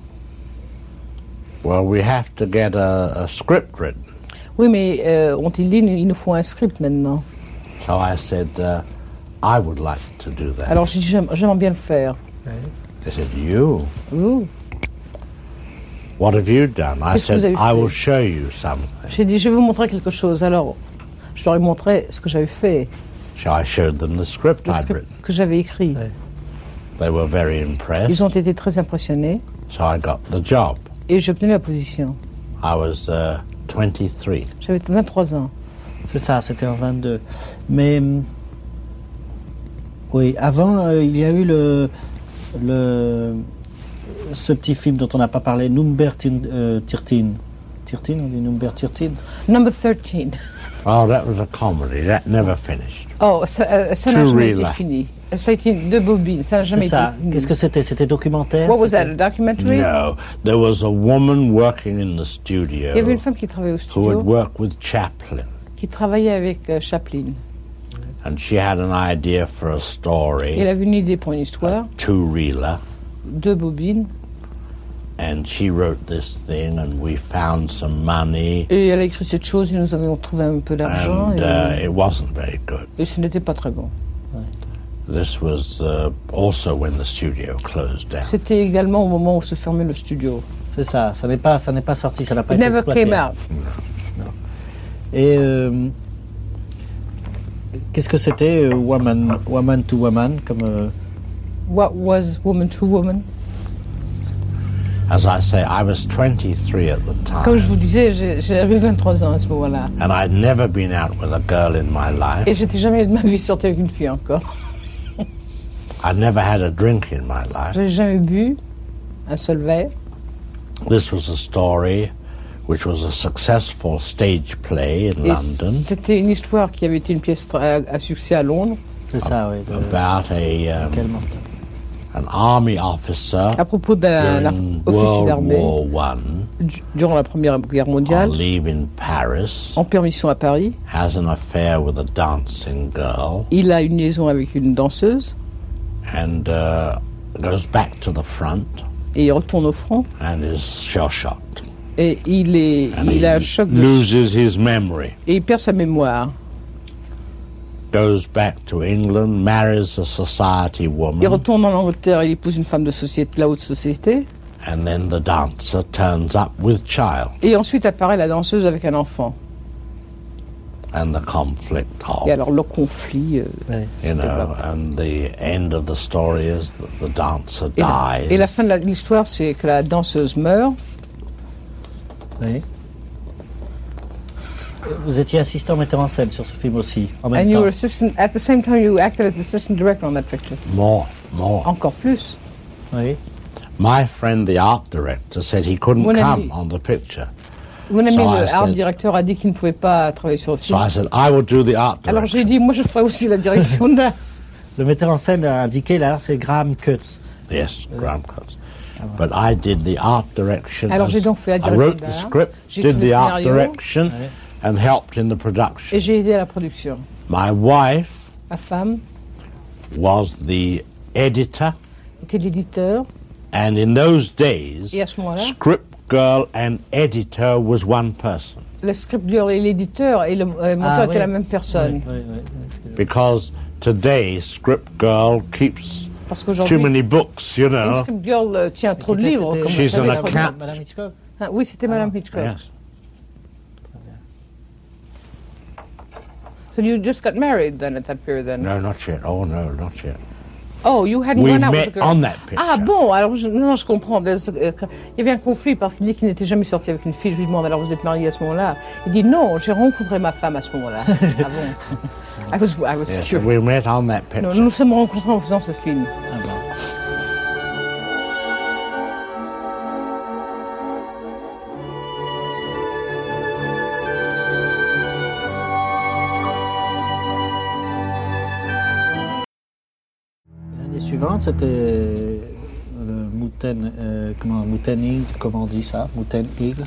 well, we have to get a, a script written. Oui, mais euh, ont-ils dit, il nous faut un script maintenant. So I said, uh, I would like to do that. Alors j'ai dit, j'aime- j'aimerais bien le faire. They said, you? Vous? What have you done? I Qu'est-ce que vous said, avez I fait? will show you something. J'ai dit, je vais vous montrer quelque chose. Alors, je leur ai montré ce que j'avais fait, So I showed them the script le I'd script written. que j'avais écrit. Ouais. They were very impressed. Ils ont été très impressionnés So I got the job. et j'ai obtenu la position. I was uh, twenty-three. J'avais vingt-trois ans. C'est ça, c'était en vingt-deux. Mais hum, oui, avant, euh, il y a eu le, le ce petit film dont on n'a pas parlé, Number Tin- euh, thirteen. thirteen, on dit Number thirteen. Number thirteen. Oh, that was a comedy. That never finished. Oh, ça euh, ça n'a Two jamais été reeler. fini. Ça a été deux bobines. Ça n'a jamais C'est été ça. fini. Qu'est-ce que c'était? C'était documentaire? What was that, C'était- a documentary? No, there was a woman working in the studio Il y avait une femme qui travaillait au who had studio, worked with Chaplin, qui travaillait avec euh, Chaplin. and she had an idea for a Elle story, avait une idée pour une histoire, a two-reeler, deux bobines, and she wrote this thing, and we found some money, et elle a écrit cette chose et nous avions trouvé un peu d'argent and et, uh, it wasn't very good. et ce n'était pas très bon. This was uh, also when the studio closed down. C'était également au moment où se fermait le studio. C'est ça. Ça n'est pas, ça n'est pas sorti. Ça n'a pas It été never exploité. came out. Et euh, qu'est-ce que c'était, euh, woman, woman to woman, comme euh, What was Woman to Woman? As I say, I was twenty-three at the Comme je vous time, disais, j'ai- j'avais vingt-trois ans à ce moment-là. and I'd never been out with a girl in my life. Et j'étais jamais de ma vie sortie avec une fille encore. I'd never had a drink in my life. J'avais jamais bu un seul verre. This was a story which was a successful stage play in Et London c'était une histoire qui avait été une pièce tra- à, à succès à Londres, c'est ça, oui. de- about a um, quel mortel. an army officer à propos d'un during officier World d'armée War One du- durant la Première Guerre on mondiale, leave in Paris, en permission à Paris. has an affair with a dancing girl, Il a une liaison avec une danseuse and uh, goes back to the front et il retourne au front and is shell-shocked. et il, est, And il a un he choc de loses his memory. et il perd sa mémoire. Goes back to England, marries a society Il woman, retourne en Angleterre, il épouse une femme de société, de la haute société, and then the dancer turns up with child, et ensuite apparaît la danseuse avec un enfant. and the conflict of, Et alors le conflit, euh, Ouais. you know, développe. and the end of the story is that the dancer et, la, dies, et la fin de la- l'histoire, c'est que la danseuse meurt. Oui. Vous étiez assistant metteur en scène sur ce film aussi, en même And you temps. were assistant, at the same time you acted as assistant director on that picture. more, more. Encore plus. Oui. My friend, the art director, said he couldn't Mon come ami- on the picture. Mon ami So le I art said- directeur a dit qu'il ne pouvait pas travailler sur le So film. I said, I will do the art Alors direction. j'ai dit, moi je ferai aussi la direction d'art. Le metteur en scène a indiqué là, c'est Graham Cutts. Yes, Graham Cutts. But I did the art direction. Alors as- j'ai donc fait la I direction wrote the d'art. script, J'ai did écrit le the art scénario. direction, Ouais. and helped in the production. Et j'ai aidé à la production. My wife Ma femme was the editor, était l'éditeur. and in those days, Et à ce moment-là, script girl and editor was one person, le script girl et l'éditeur et le euh, monteur Ah, étaient oui. la même personne. Oui, oui, oui. because today script girl keeps Parce qu'aujourd'hui, Too many books, you know. Instant Girl euh, tient trop de livres. C'était- Comme She's vous savez, an la- account. Madame Hitchcock. Ah, oui, c'était Madame Ah, Hitchcock. Yes. So you just got married then at that period then? No, not yet. Oh, no, not yet. Oh, you hadn't We gone out with met the girl. on that picture. Ah bon, alors je, non, je comprends. There's, euh, Il y avait un conflit parce qu'il dit qu'il n'était jamais sorti avec une fille. Je lui demande alors vous êtes marié à ce moment-là? Il dit non, j'ai rencontré ma femme à ce moment-là. Ah bon? I was, I was Yes, curious. we met on that picture. Non, nous nous sommes rencontrés en faisant ce film. Ah bon. L'année suivante, c'était le Mountain, euh, comment, Mountain Eagle, comment on dit ça? Mountain Eagle?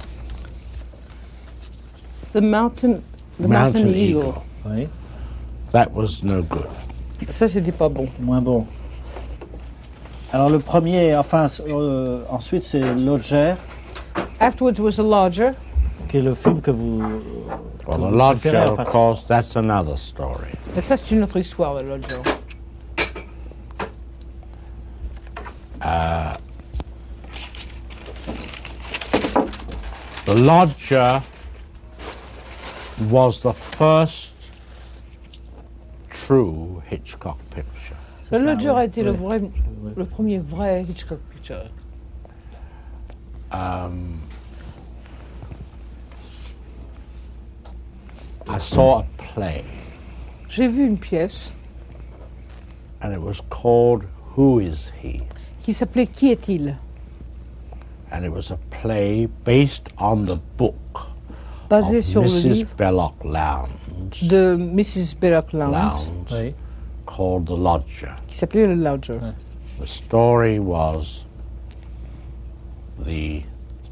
The Mountain, the Mountain Mountain Eagle. Eagle. Oui, That was no good. Ça, c'était pas bon. moins bon. Alors le premier, enfin, euh, ensuite c'est Lodger, Afterwards was The Lodger. qui est le film que vous... que Well, vous the Lodger, préférez, of enfin, course, that's another story. Mais ça, c'est une autre histoire, The Lodger. Uh, the Lodger was the first true Hitchcock picture. Le ça, Lodger ouais, a été le, ouais. vrai, Ouais. le premier vrai Hitchcock picture. Um, I saw a play, J'ai vu une pièce and it was called Who Is He? qui s'appelait Qui est-il? And it was a play based on the book Basée of sur le Missus livre Belloc Lowndes, de Missus Belloc Lowndes, Lowndes Oui. called The Lodger. qui s'appelait Le Lodger. Ouais. The story was the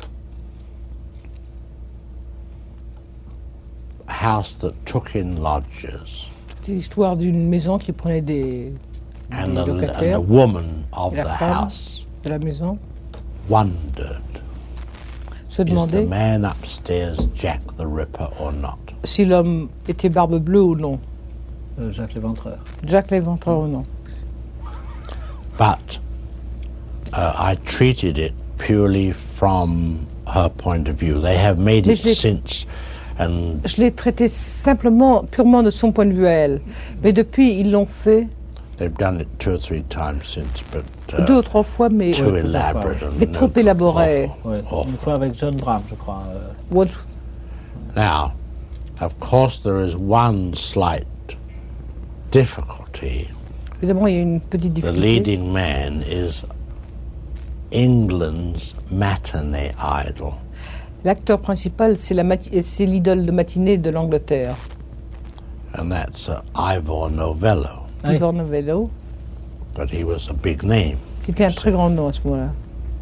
house that took in lodgers, C'est l'histoire d'une maison qui prenait des, and des the, and locataires the woman of Et la the femme house de la maison, wondered, se is the demandaient man upstairs Jack the Ripper or not? si l'homme était Barbe Bleue ou non, Euh, Jacques Léventreur. Jack l'Éventreur ou non. But uh, I treated it purely from her point of view. They have made Mais it je l'ai- since, and Je l'ai traité simplement, purement de son point de vue à elle. Mais depuis, ils l'ont fait they've done it two or three times since, but deux uh, ou trois fois, mais, too Ouais, plusieurs fois, elaborate. mais and trop no- élaboré. awful, Ouais. awful. Une fois avec John Brown, je crois. euh. What- Now, of course, there is one slight difficulty. Évidemment, il y a une petite The difficulté. leading man is England's matinee idol, L'acteur principal, c'est la mati- c'est l'idole de matinée de l'Angleterre, and that's uh, Ivor Novello. Oui. Ivor Novello, But he was a big name. qui était un très grand nom à ce moment-là.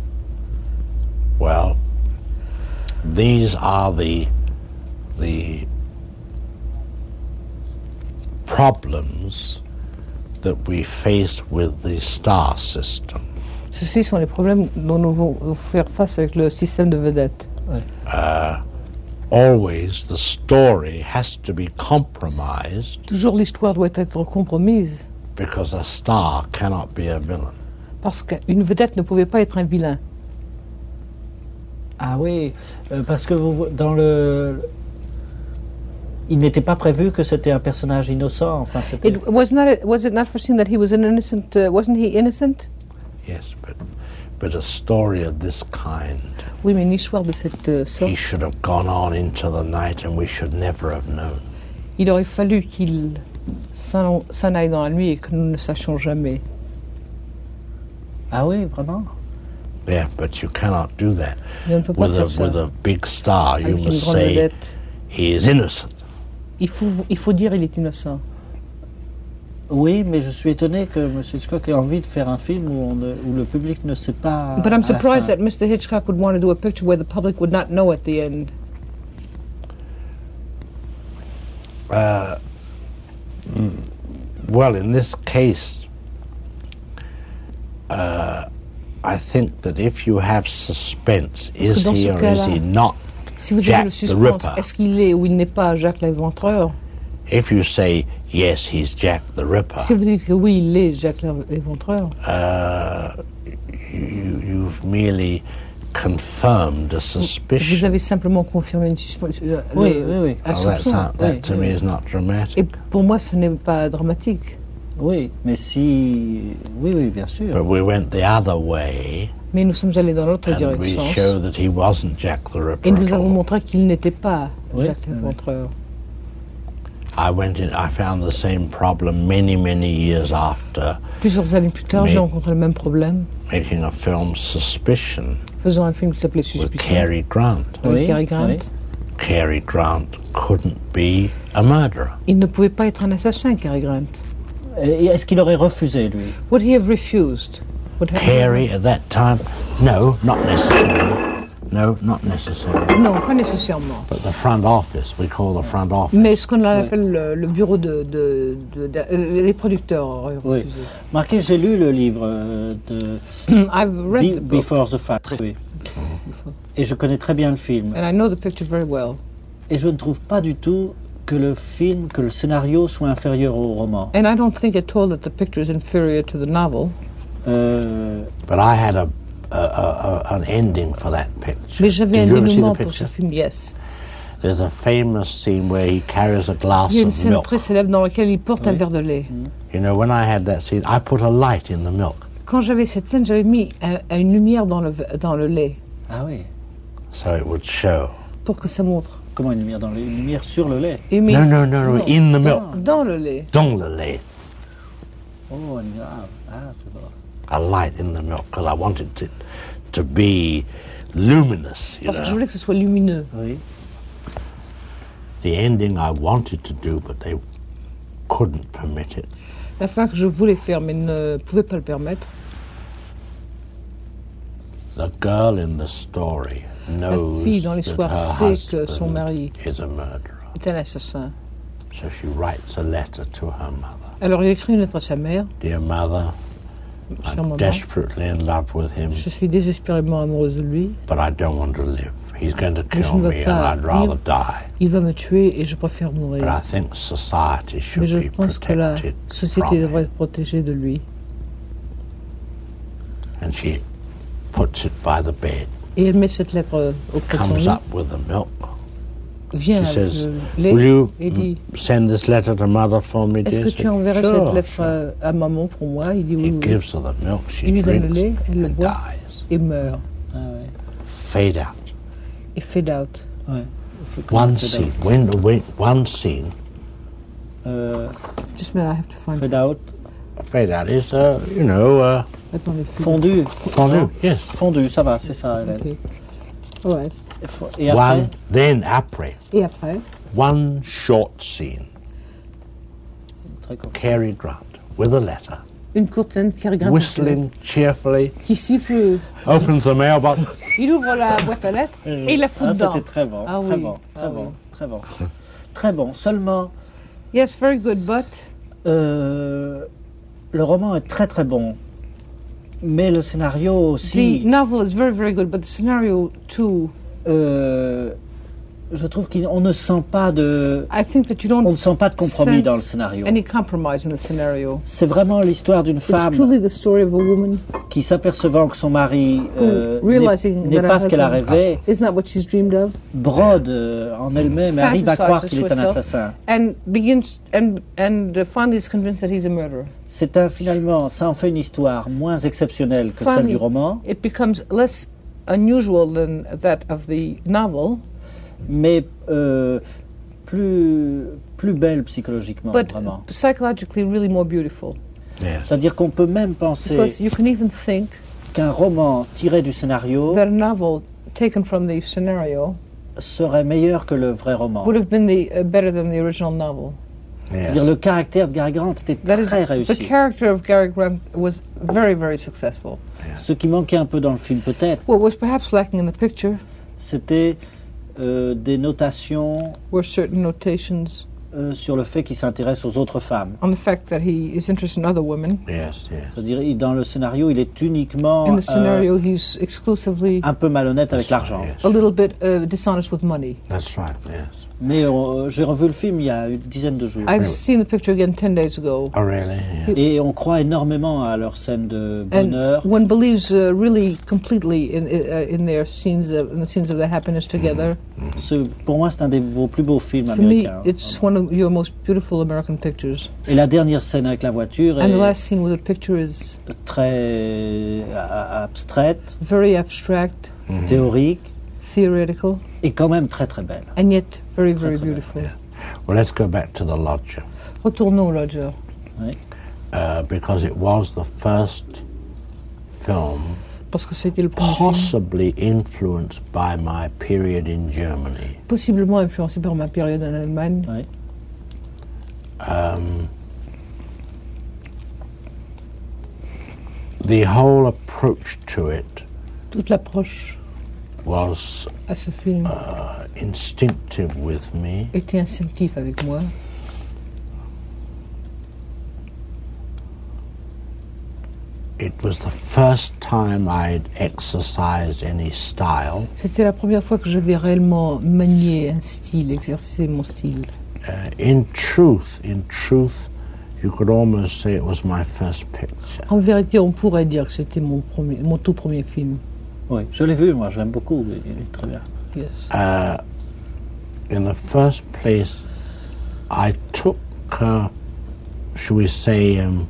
Well, these are the the problems that we face with the star system. Ceci sont les problèmes dont nous devons faire face avec le système de vedettes. Uh, always the story has to be compromised Toujours l'histoire doit être compromise, because a star cannot be a villain. parce qu'une vedette ne pouvait pas être un vilain. Ah oui, euh, parce que vous, dans le... Il n'était pas prévu que c'était un personnage innocent, enfin c'était... It was not. Was it not foreseen that he was an innocent? Uh, wasn't he innocent? Yes, but but a story of this kind, Oui, mais une histoire de cette euh, sorte, he should have gone on into the night, and we should never have known. il aurait fallu qu'il s'en s'en aille dans la nuit et que nous ne sachions jamais. Ah oui, vraiment? Yeah, but you cannot do that Et on ne peut pas with a faire ça with a big star. You avec une must grande say vedette. he is innocent. Il faut, il faut dire il est innocent. Oui, mais je suis étonné que M. Hitchcock ait envie de faire un film où, on ne- où le public ne sait pas... But I'm à la surprised fin. that Mister Hitchcock would want to do a picture where the public would not know at the end. Uh, mm, well, in this case, uh, I think that if you have suspense, Parce que is dans he ce or is cas-là, he not Si vous Jack avez le the suspense, Ripper. est-ce qu'il est ou il n'est pas Jacques l'Éventreur? If you say, yes, he's Jack the Ripper, Si vous dites que oui, il est Jack l'Éventreur, uh, you, you've merely confirmed a vous suspicion. avez simplement confirmé une suspicion. euh, Oui, le- oui, oui. un Oh, that's soupçon. not, that Oui, to oui. me is not Et dramatic. pour moi, ce n'est pas dramatique. Oui, mais si... Oui, oui, bien sûr. But we went the other way, Mais nous sommes allés dans l'autre and we direction. show that he wasn't Jack the Ripper Et nous at avons all. montré qu'il n'était pas Oui, Jack oui, oui. l'Éventreur. I went in. I found the same problem many, many years after Plusieurs années plus tard, Mais- j'ai rencontré le même problème, making a film Suspicion faisant un film qui s'appelait with Suspicion, Cary Grant. avec Oui, Cary Grant. oui. Cary Grant couldn't be a murderer. Il ne pouvait pas être un assassin, Cary Grant. Et est-ce qu'il aurait refusé, lui? Would he have refused? Would have- Cary at that time, no, not necessarily. No, not necessarily. Non, pas nécessairement. But the front office, we call the front office. Mais ce qu'on appelle le, le bureau de, de, de- de- euh, les producteurs auraient Oui. refusé. Marquez, j'ai lu le livre euh, de I've read Be- the book, Before the Fact. Oui. Et je connais très bien le film. and I know the picture very well. Et je ne trouve pas du tout que le film, que le scénario soit inférieur au roman. And I don't think at all that the picture is inferior to the novel. Euh, But I had a, a, a, a an ending for that picture. Mais j'avais Did un you ever see the dénouement pour ce picture? film, yes. There's a famous scene where he carries a glass Il y a une of scène milk. très célèbre dans laquelle il porte un Oui. verre de lait. You know, when I had that scene, I put a light in the milk. Quand j'avais cette scène, j'avais mis un- un- une lumière dans le, v- dans le lait ah oui. So it would show. pour que ça montre. Comment une lumière dans le, une lumière sur le lait? Et mis No, no, no, no, Non. in the milk. dans le lait. Dans le lait. Oh, une lumière. Ah, ah, c'est bon. A light in the milk, because I wanted it to be luminous, you Parce que je know. voulais que ce soit lumineux. Oui. The ending I wanted to do, but they couldn't permit it. La fin que je voulais faire, mais ne pouvais pas le permettre. The girl in the story knows fille dans that l'histoire her sait que son husband mari is a murderer. est un assassin. So she writes a letter to her mother. Alors il écrit une lettre à sa mère. Dear mother, Chère I'm maman, desperately in love with him, je suis désespérément amoureuse de lui. but I don't want to live. He's going to Mais je kill ne veux me and pas I'd rather vivre. die. Il va me tuer et je préfère But I mourir. think society Mais should je be pense que la protected société from devrait him. être protégée de lui. And she puts it by the bed, Et elle met cette lettre auprès de son comes lit, up with the milk. vient She avec says, le lait will you et dit m- send this letter to mother for me, est-ce dear? que She tu said, enverrais sure, cette lettre sure. à, à maman pour moi? Il dit oui, He oui, gives her the milk, she Il lui donne le drinks lait, elle le and boit. dies. et meurt. Ah ouais. Fade out. Et fade out. Ouais. Il faut que- One fade scene, out. when, when, one scene, Euh, Just a minute, I have to find fade out. fade out is, uh, you know, uh, Attends, les filles. Fondu. fondu, yes. Fondu, ça va, c'est ça, Hélène. Ok. Ouais. Et fo- Et après, One, then après, Et après, one short scene, très court. Cary Grant with a letter, une courte scène qui regarde whistling cheerfully, qui siffle. opens the mailbox. Il ouvre la boîte à lettres et il la fout Ah, dedans. c'était très bon, Ah très oui, bon, très ah bon, oui. très bon, très bon. Seulement, Yes, very good, but euh, le roman est très très bon, mais le scénario the aussi, novel is very, very good, but the scenario too. euh, je trouve qu'on ne sent pas de, I think that you on don't ne sent pas de compromis sense dans le scénario. any compromise in the scenario. C'est vraiment l'histoire d'une It's femme truly the story of a woman qui, s'apercevant que son mari euh, Who, realizing n'est n'est that her pas ce qu'elle a husband rêvé, isn't that what she's dreamed of, brode euh, en elle-même et arrive à croire qu'il est un Fantasizes assassin. and begins and and uh, finally is convinced that he's a murderer. C'est un, finalement, ça en fait une histoire moins exceptionnelle que celle Funny. du roman, It becomes less unusual than that of the novel, mais euh, plus, plus belle psychologiquement, but vraiment. psychologically really more beautiful. Yes. C'est-à-dire qu'on peut même penser Because you can even think qu'un roman tiré du scénario that a novel taken from the scenario serait meilleur que le vrai roman. would have been the uh, better than the original novel. C'est-à-dire Yes. le caractère de Gary Grant était That is, très the réussi. character of Gary Grant was very, very successful. Ce qui manquait un peu dans le film peut-être, What was perhaps lacking in the picture c'était euh, des notations were certain notations euh, sur le fait qu'il s'intéresse aux autres femmes. on the fact that he is interested in other women. Yes, yes. C'est-à-dire il- dans le scénario, il est uniquement In the euh, scenario, he's exclusively un peu malhonnête avec l'argent. Yes. a little bit uh, dishonest with money. That's right, yes. Mais euh, j'ai revu le film il y a une dizaine de jours. I've seen the picture again ten days ago. Oh, really? Yeah. Et on croit énormément à leurs scènes de And bonheur. one believes uh, really completely in uh, in their scenes, of, in the scenes of their happiness together. Ce- pour moi, c'est un de vos plus beaux films For me, américains. it's one of your most beautiful American pictures. Et la dernière scène avec la voiture And the est last scene with the picture is très a- abstraite, very abstract, théorique, theoretical, et quand même très très belle. and yet very, very très belle, beautiful. yeah. Well, let's go back to The Lodger, Retournons au Lodger. uh, because it was the first film Parce que c'était le premier film, possibly influenced by my period in Germany. possiblement influencé par ma période en Allemagne. Ouais. Um, the whole approach to it Toute l'approche was à ce film uh, instinctive with me. était instinctive avec moi. It was the first time I'd exercised any style. C'était la première fois que j'avais réellement manié un style, exercé mon style. Uh, in truth, in truth, you could almost say it was my first picture. En vérité, on pourrait dire que c'était mon, premier, mon tout premier film. Oui, je l'ai vu, moi, je l'aime beaucoup, il est très bien. Yes. Uh, in the first place, I took, uh, shall we say, um,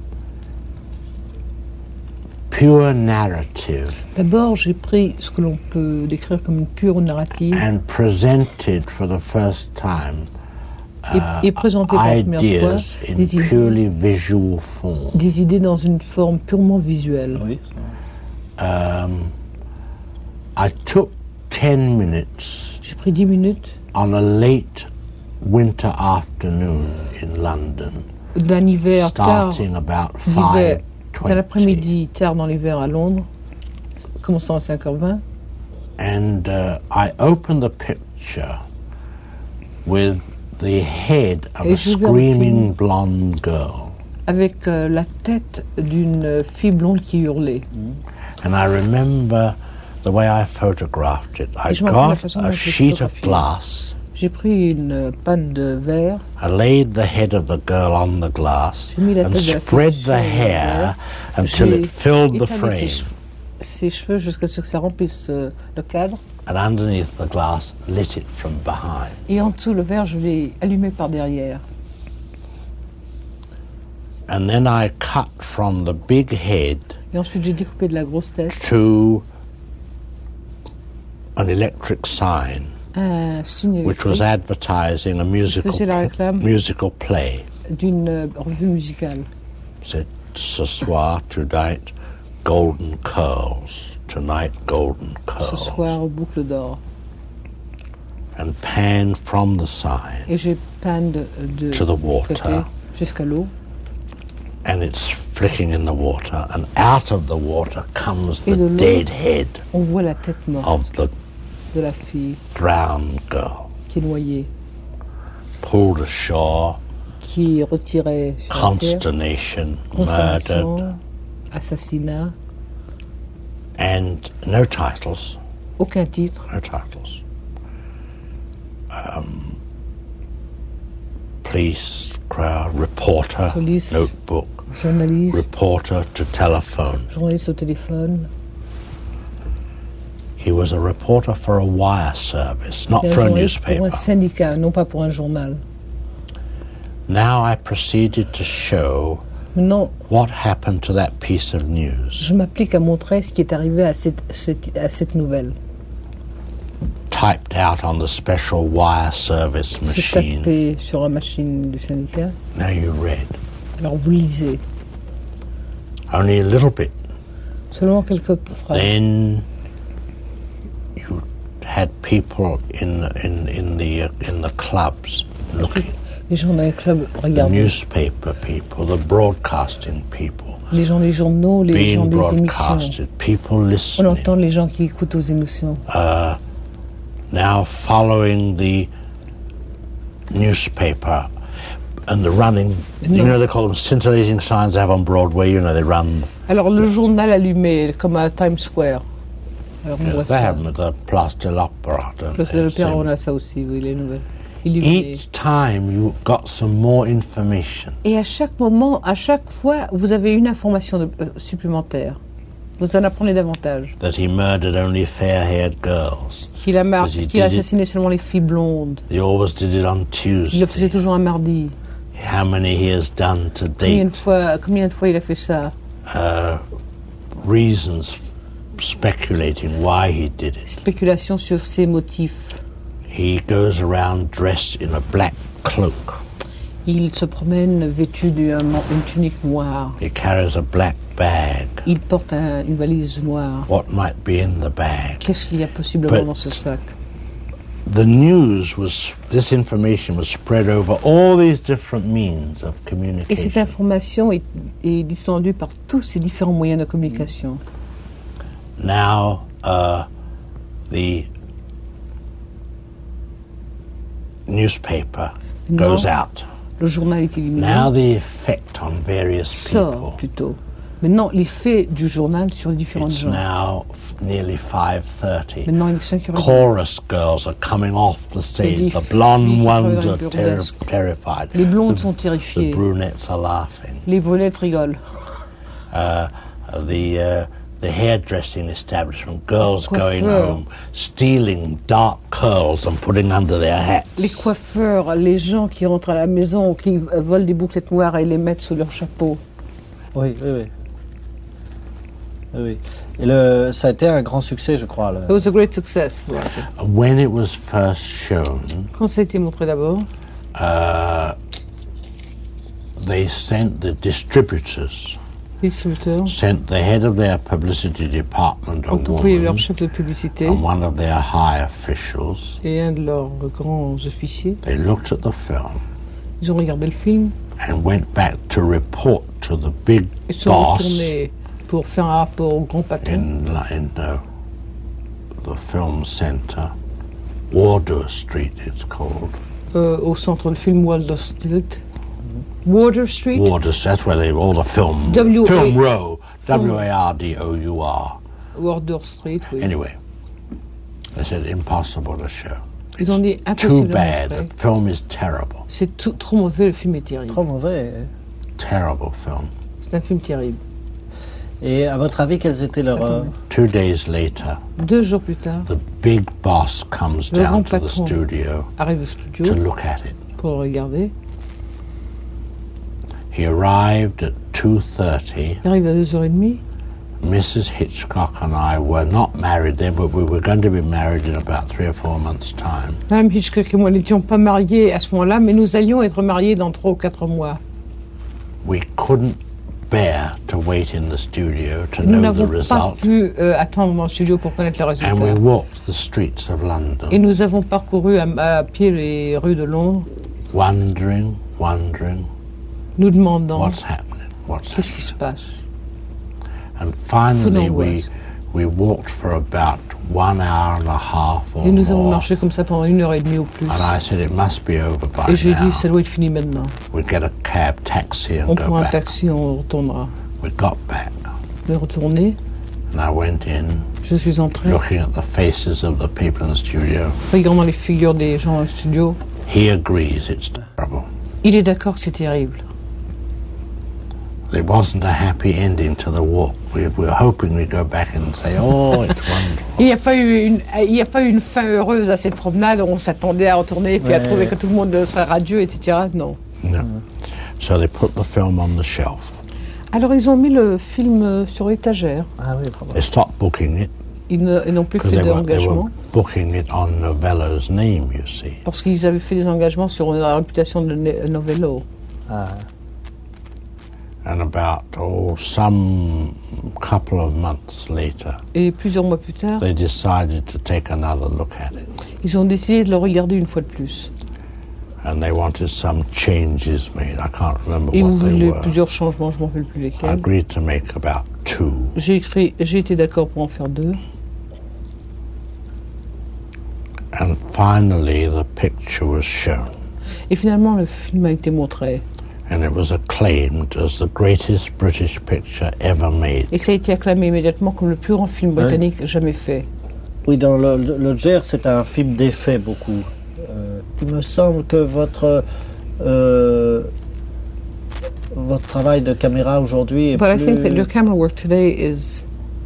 pure narrative D'abord, j'ai pris ce que l'on peut décrire comme une pure narrative and presented for the first time et, uh, et présenté pour la première fois ideas in des idées, purely visual form. des idées dans une forme purement visuelle. Oui, Um, I took ten minutes J'ai pris dix minutes on a late winter afternoon in London, d'un hiver tard, starting about d'hiver, five d'un twenty, après-midi tard dans l'hiver à Londres, commençant à cinq heures vingt. and uh, I opened the picture with the head of Et a j'ai ouvert le screaming blonde girl, avec euh, la tête d'une fille blonde qui hurlait. and I remember the way I photographed it. I Et je me rappelle la got façon dont a je l'ai sheet of photographié. glass. J'ai pris une panne de verre, I laid the head of the girl on the glass J'ai mis la and tête de la spread fille the sur le hair verre. until J'ai it filled the étalé ses frame. cheveux, ses cheveux jusqu'à ce que ça remplisse euh, le cadre. And underneath the glass, lit it from behind. Et en dessous, le verre, je l'ai allumé par derrière. And then I cut from the big head Et ensuite, j'ai découpé de la grosse tête, to an electric sign un signe which was électrique advertising a musical faisait la réclame musical play. d'une euh, revue musicale. Said, ce soir, tonight, golden curls. Tonight, golden Ce curls. soir, boucle d'or. And pan from the sign Et j'ai peint de, de to the côté water. jusqu'à l'eau. And it's flicking in the water, and out of the water comes Et the de l'eau. dead head On voit la tête morte of the de la fille drowned girl, qui est noyée, pulled ashore, qui retirait sur la terre, consternation, murdered, consommation, assassinat, and no titles, aucun titre. no titles. Um, police, crowd, reporter, Police. notebook, Journaliste, reporter to telephone. journaliste au téléphone. He was a reporter for a wire service, not Et un for a journaliste pour un newspaper. syndicat, non pas pour un journal. Now I proceeded to show Maintenant, what happened to that piece of news. je m'applique à montrer ce qui est arrivé à cette, cette- à cette nouvelle. Typed out on the special wire service C'est machine. tapé sur la machine du syndicat. Now you read. Alors vous lisez Only a little bit. seulement quelques phrases. Then you had people in in in the uh, in the clubs looking. Les gens dans les clubs The regardent. newspaper people, the broadcasting people, Les gens des journaux, les gens being des émissions. broadcasted, people On listening. entend les gens qui écoutent aux émotions. Uh, now following the newspaper and the running, you No. know they call them scintillating signs they have on Broadway, you know, they run, Alors le journal allumé, comme à Times Square. Alors on you know, voit they ça. have them at the Place de l'Opéra, don't Place they? de l'Opéra, Same. on a ça aussi, oui, les nouvelles. illuminé. Each time you got some more information. Et à chaque moment, à chaque fois, vous avez une information de, euh, supplémentaire. Vous en apprenez davantage. That he murdered only fair-haired girls. Qu'il a, mar- Because he qu'il a did it- assassiné seulement les filles blondes. He always did it on Il le faisait Tuesday. toujours un mardi. How many he has done to Combien de date. fois, combien de fois il a fait ça? Uh, reasons speculating why he did it. Spéculation sur ses motifs. He goes around dressed in a black cloak. Il se promène vêtu d'une une tunique noire. He carries a black bag. Il porte un- une valise noire. What might be in the bag? Qu'est-ce qu'il y a possiblement But- dans ce sac? The news was, this information was spread over all these different means of Et cette communication. information est, est distendue par tous ces différents moyens de communication. Now, uh, the newspaper Non. goes out. Le journal est éliminé. Now the effect on various Sort people. plutôt. Maintenant, l'effet du journal sur les différentes It's gens. now f- nearly five thirty. Maintenant, il est cinq heures trente. Chorus girls are coming off the stage. Les The filles blonde qui ones travaillent are dans le ter- burlesque. terrified. Les blondes sont The terrifiées. brunettes are laughing. Les brunettes rigolent. Uh, the uh, the hairdressing establishment, girls going Coiffeur. home, stealing dark curls and putting under their hats. Les coiffeurs, les gens qui rentrent à la maison, qui euh, volent des bouclettes noires et les mettent sous leur chapeau. Oui, oui, oui. Oui, oui. Et le, ça a été un grand succès, je crois. le- It was a great success. When it was first shown, Quand ça a été montré d'abord, uh, they sent the distributors, les distributeurs sent the head of their publicity department, a ont envoyé leur woman, chef de publicité and one of their high officials. et un de leurs grands officiers. They looked at the film Ils ont regardé le film, and went back to report to the big ils sont boss retournés pour faire un rapport au grand patron in, in uh, the film center, Wardour Street it's called. euh, au centre de film Water Street. Water Street, Wardour, that's where they all the film, W A- film row, W A R D O U R. Water Street, oui. Anyway, they said impossible to show. Ils ont dit Too impossible à bad. montrer. The film is terrible. C'est tout- trop mauvais, le film est terrible. Trop mauvais. Terrible film. C'est un film terrible. Et à votre avis, quelles étaient leurs... euh, Two days later, Deux jours plus tard, the big boss comes Le down grand to the patron. studio arrive au to studio look at it. pour le regarder. He arrived at two thirty. Il arrive à deux heures trente. Missus Hitchcock and I were not married then, but we were going to be married in about three or four months' time. Madame Hitchcock et moi n'étions pas mariés à ce moment-là, mais nous allions être mariés dans trois ou quatre mois. We couldn't bear to wait in the studio to Nous know the n'avons pas result, pu euh, attendre dans le studio pour connaître le and we résultat. walked the streets of Et London, nous avons parcouru à, à pied les rues de Londres, wondering, wondering nous demandant what's happening, what's qu'est-ce qui se happening. passe. And finally, we d'angoisse. we walked for about one hour and a half or Et nous avons more. marché comme ça pendant une heure et demie au plus. And I said it must be over by Et j'ai dit, now. ça doit être fini maintenant. We get a cab, taxi, and On go prend un back. taxi, on retournera. We got back, On est retourné, and I went in, je suis entré, looking at the faces of the people in the studio. regardant les figures des gens dans le studio. He agrees it's terrible. Il est d'accord que c'est terrible. It wasn't a happy ending to the walk. We we were hoping we'd go back and say, "Oh, it's wonderful." Il n'y a pas eu une, il n'y a pas eu une fin heureuse à cette promenade. On s'attendait à retourner et puis à Ouais. trouver que tout le monde serait radieux, et cetera. Non. No. So they put the film on the shelf. Alors ils ont mis le film euh, sur étagère. Ah oui, probablement. They stopped booking it Ils ne- ils n'ont plus because fait they were, they were d'engagement booking it on Novello's name, you see. parce qu'ils avaient fait des engagements sur la réputation de Ne- Novello. Ah, And about, oh, some couple of months later, Et plusieurs mois plus tard, they decided to take another look at it. ils ont décidé de le regarder une fois de plus. And they wanted some changes made. I can't remember Et ils what they voulaient were. plusieurs changements, je ne m'en rappelle plus I lesquels. agreed to make about two. J'ai écrit, j'ai été d'accord pour en faire deux. And finally, the picture was shown. Et finalement, le film a été montré. And it was acclaimed as the greatest British picture ever made. Et ça a été acclamé immédiatement comme le plus grand film Ouais. britannique jamais fait. oui, dans le, le, le Gers, c'est un film d'effet beaucoup. Euh, il me semble que votre euh, votre travail de caméra aujourd'hui est But I plus, think that your camera work today is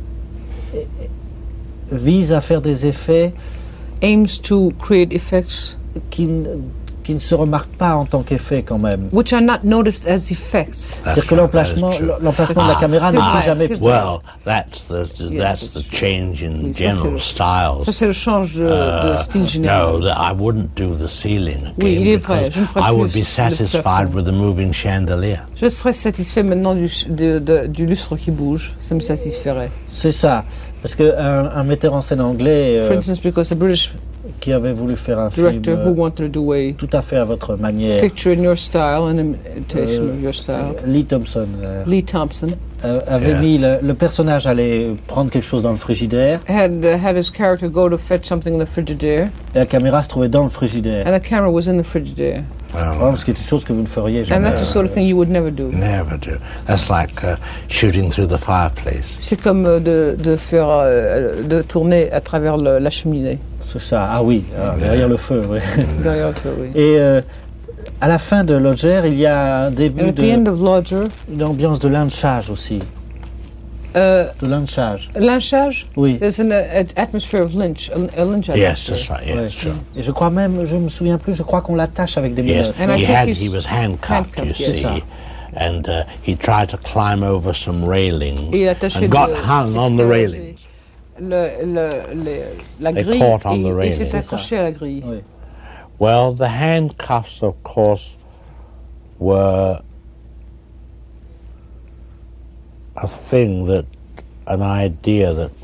vise à faire des effets aims to create effects qui, ne- qui ne se remarquent pas en tant qu'effet quand même. which are not noticed as effects. C'est-à-dire que l'emplacement, That is true. l'emplacement de la Ah, caméra c'est n'est vrai, plus jamais c'est fixé. vrai. Well, that's the Yes, that's that's the true. change in Oui, ça, c'est general le- styles. Ça c'est le change de, de Uh, style no, général. that I wouldn't do the ceiling again Oui, il est vrai, because je ne ferai I plus would be le satisfied plafond. with the moving chandelier. Je serais satisfait maintenant du, de- de- du lustre qui bouge. Ça me satisferait. C'est ça. Parce qu'un un metteur en scène anglais euh, For instance, because a British qui avait voulu faire un film director who euh, wanted to do a tout à fait à votre manière, picture in your style, an imitation euh, of your style, Lee Thompson euh, Lee Thompson euh, avait Yeah. mis le, le personnage allait prendre quelque chose dans le frigidaire had uh, had his character go to fetch something in the frigidaire, et la caméra se trouvait dans le frigidaire. and the camera was in the frigidaire. Well, Vraiment, ce qui est une chose que vous ne feriez And jamais. that's the sort of thing you would never do. never do. That's like uh, shooting through the fireplace. C'est comme euh, de, de faire, euh, de tourner à travers le- la cheminée. C'est ça. Ah oui, ah, derrière le feu. Oui. Derrière le feu, oui. Et euh, à la fin de Lodger, il y a un And début at the end de of Lodger, une ambiance de lynchage aussi, euh, de lynchage. lynchage, Oui. there's an uh, atmosphere of lynch, a, a lynch Yes, atmosphere. that's right. Yes, Ouais. sure. Et je crois même, je me souviens plus, je crois qu'on l'attache avec des Yes, menottes. And I he think had. he's He was handcuffed, handcuffed, you yes. see, and uh, he tried to climb over some railings Et il est attaché and got de- hung on the escalade, railings. Le, le, le, la They grille, caught on et, the et railing. s'est C'est accroché à la grille. Oui. Well, the handcuffs, of course, were a thing that, an idea that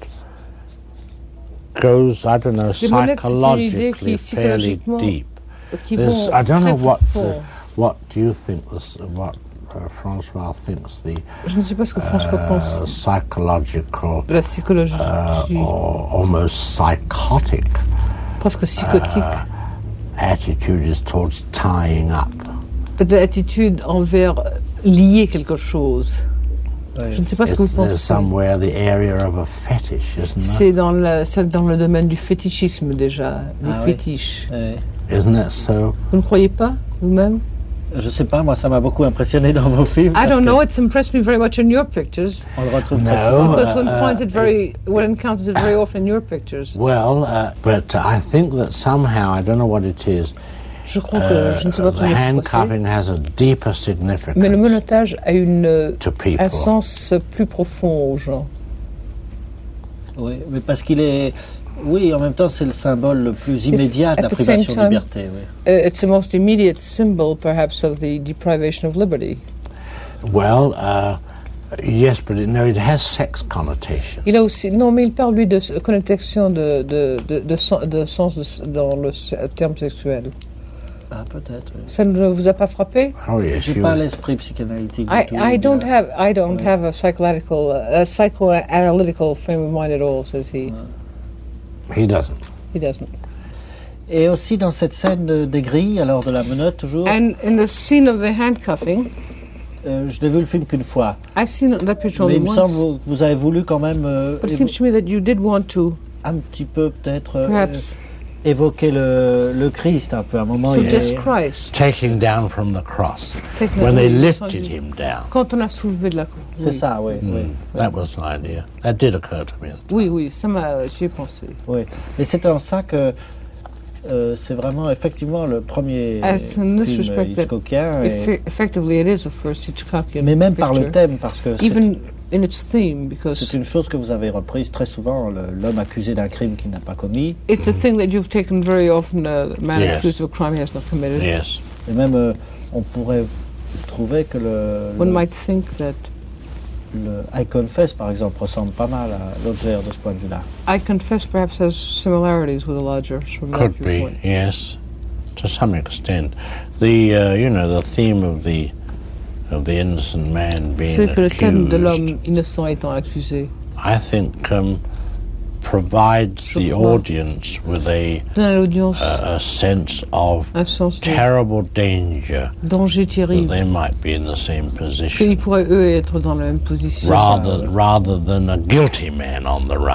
goes, I don't know, Les monettes, c'est une idée psychologically qui, fairly psychologiquement, deep. qui There's, vont I don't très know what, profond. the, what do you think, this, what uh, Francois thinks the Je ne sais pas ce que François uh, pense psychological de la psychologie, uh, or almost psychotic presque psychotique, uh, attitude is towards tying up. de l'attitude envers lier quelque chose. Ouais. Je ne sais pas ce que It's, vous there's pensez. somewhere the area of a fetish, isn't C'est it? dans le, c'est dans le domaine du fétichisme déjà, du Ah oui. fétiche. Ouais. Isn't it so? Vous ne croyez pas, vous-même? Je sais pas, moi ça m'a beaucoup impressionné dans vos films. I parce don't que know, it's impressed me very much in your pictures. On le retrouve très No. souvent. Because one uh, finds it very, one encounters it very often in your pictures. Well, uh, but I think that somehow, I don't know what it is, Je crois que, uh, je ne sais pas the comment c'est, handcuffing has a deeper mais le significance menottage a une, to people. un sens plus profond aux gens. Oui, mais parce qu'il est. Oui, en même temps, c'est le symbole le plus immédiat de la at the same privation de time- liberté. Oui. Uh, it's the most immediate symbol, perhaps, of the deprivation of liberty. Well, uh, yes, but it, no, it has sex connotation. Il a aussi, non, mais il parle lui de s- connotation de, de, de, de, sen- de sens de s- dans le s- terme sexuel. Ah, peut-être. Oui. Ça ne vous a pas frappé? Oh yes, J'ai you, pas l'esprit psychanalytique. du I, tout, I don't euh, have I don't Ouais. have a psychological uh, a psychoanalytical frame of mind at all, says he. he doesn't. He doesn't. Et aussi dans cette scène de- des grilles, alors de la menotte toujours, And in the scene of the handcuffing, euh, je n'ai vu le film qu'une fois. I've seen that picture Mais only il me once. semble que vous, vous avez voulu quand même euh, But it évo- seems to me that you did want to, un petit peu peut-être euh, perhaps, évoquer le, le Christ un peu. À un moment, il suggest est- Christ. Taking down from the cross. Taking When it they away, lifted descendu. him down. Quand on a soulevé de la croix. c'est Oui. ça, oui, oui. Mm, that was an idea. That did occur to me. Oui, oui, ça m'a, j'y ai pensé. Oui. Et c'est en ça que euh, c'est vraiment effectivement le premier As in this film respect that Hitchcockien. et- Effe- effectively, it is the first Hitchcockian mais même par le picture. thème, parce que c'est- Even in its theme, because c'est une chose que vous avez reprise très souvent, le- l'homme accusé d'un crime qu'il n'a pas commis. it's a thing that you've taken very often, uh, the man Yes. accused of a crime he has not committed. Yes. Et même, euh, on pourrait trouver que le, One le, might think that le I Confess, par exemple, ressemble pas mal à Lodger de ce point de vue-là. I Confess perhaps has similarities with the Lodger from that Could be, viewpoint. yes, to some extent. The uh, you know the theme of the of the innocent man being C'est que le thème de accused, l'homme innocent étant accusé I think, um, provides Je the crois. audience with a donne à l'audience a, a sense of un sens de terrible danger danger that terrible, they might be in the same qu'ils position, pourraient eux être dans la même position. rather rather than a guilty man on the run.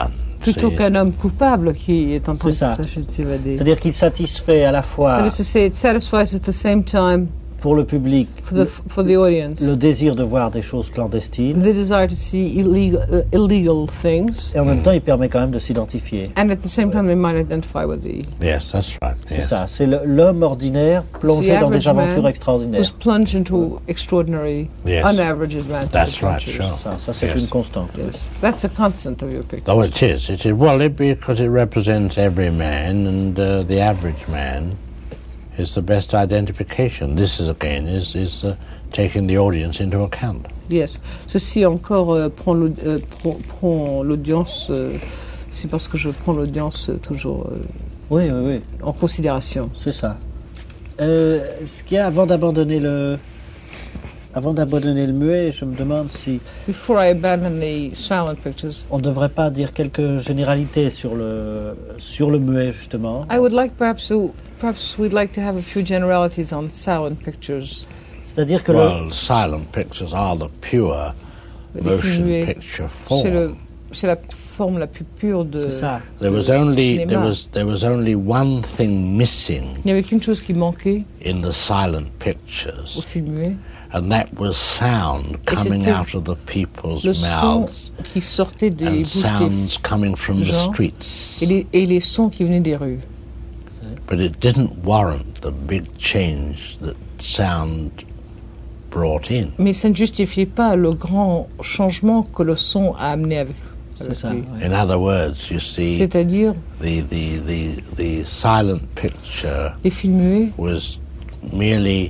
Plutôt See, qu'un homme coupable qui est en train C'est ça. de tâcher de s'évader. C'est-à-dire qu'il satisfait à la fois That is to say, it satisfies at the same time pour le public for the for the audience le désir de voir des choses clandestines the desire to see illegal uh, illegal things, et en même temps il permet quand même de s'identifier. and at the same time they might identify with the yes, that's right. C'est Yes. ça, c'est le- l'homme ordinaire plongé The dans des average aventures man extraordinaires. who's plunged into extraordinary, Yes. unaverage adventures. That's right, sure. Ça, ça c'est Yes. une constante. oui. Yes, that's a constant of your picture. Oh, it is. It is. Well, it, because it represents every man, and uh, the average man is the best identification. This is again is is uh, taking the audience into account. Yes. Ceci encore euh, prend l'aud- euh, prend- prend l'audience. euh, c'est parce que je prends l'audience euh, toujours euh, Oui, oui, oui, en considération. c'est ça. Euh, ce qu'il y a avant d'abandonner le, avant d'abandonner le muet, je me demande si Before I abandon the silent pictures, on ne devrait pas dire quelques généralités sur le, sur le muet justement. I would like perhaps to perhaps we'd like to have a few generalities on silent pictures. C'est-à-dire que le, Well, silent pictures are the pure Les motion films, picture C'est le form. c'est la forme la plus pure de. c'est ça. There was de only cinéma. there was there was only one thing missing Il n'y avait qu'une chose qui manquait in the silent au pictures, film muet, and that was sound Et coming c'était out of the people's le son mouths qui sortait des and bouches sounds des coming from the gens streets. et les, et les sons qui venaient des rues. But it didn't warrant the big change that sound brought in. Mais ça ne justifiait pas le grand changement que le son a amené avec, C'est avec ça. lui. oui. In other words, you see, C'est-à-dire, the, the, the, the silent picture les films muets was merely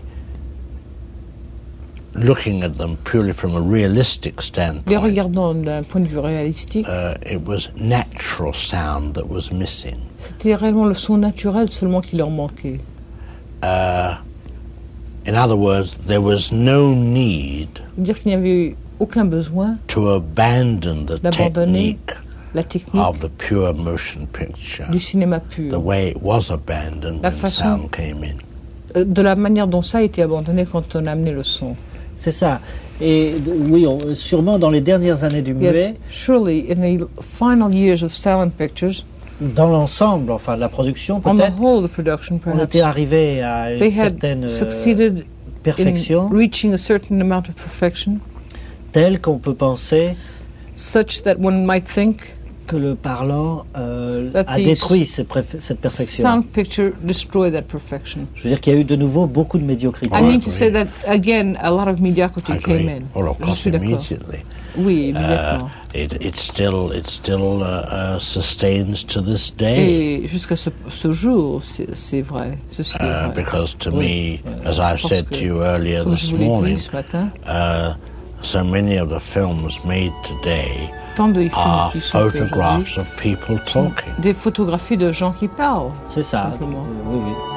looking at them purely from a realistic les standpoint. regardant d'un point de vue réalistique, Uh, it was natural sound that was missing. c'était réellement le son naturel seulement qui leur manquait. Uh, in other words, there was no need C'est-à-dire qu'il n'y avait aucun besoin, to abandon the D'abandonner technique la technique of the pure motion picture du cinéma the pur, way it was abandoned La when façon- sound came in. Euh, de la manière dont ça a été abandonné quand on a amené le son. C'est ça. Et d- oui, on- sûrement dans les dernières années du muet, Yes, surely in the final years of silent pictures, dans l'ensemble, enfin de la production on the peut-être, whole, the production on perhaps, était arrivé à une they had certaine euh, succeeded perfection in reaching a certain amount of perfection, telle qu'on peut penser such that one might think que le parlant euh, That a the détruit cette, préf- cette perfection. sound picture destroyed that perfection. Je veux dire qu'il y a eu de nouveau beaucoup de médiocrité. I Oh, mean I to say agree. that again, a lot of mediocrity I came agree. in. Well, of Je course, suis d'accord. immediately. Oui, Uh, immédiatement. it, it still it still uh, uh, sustains to this day. Et jusqu'à ce, ce jour, c'est c'est vrai. Ceci est Uh, vrai. because to Oui. me, as I've Parce said que, to you earlier Comme this je vous l'ai morning, dit ce matin, uh, so many of the films made today tant de films are qui sont faits aujourd'hui, photographs of people talking. des photographies de gens qui parlent. C'est ça. Simplement. Oui, oui.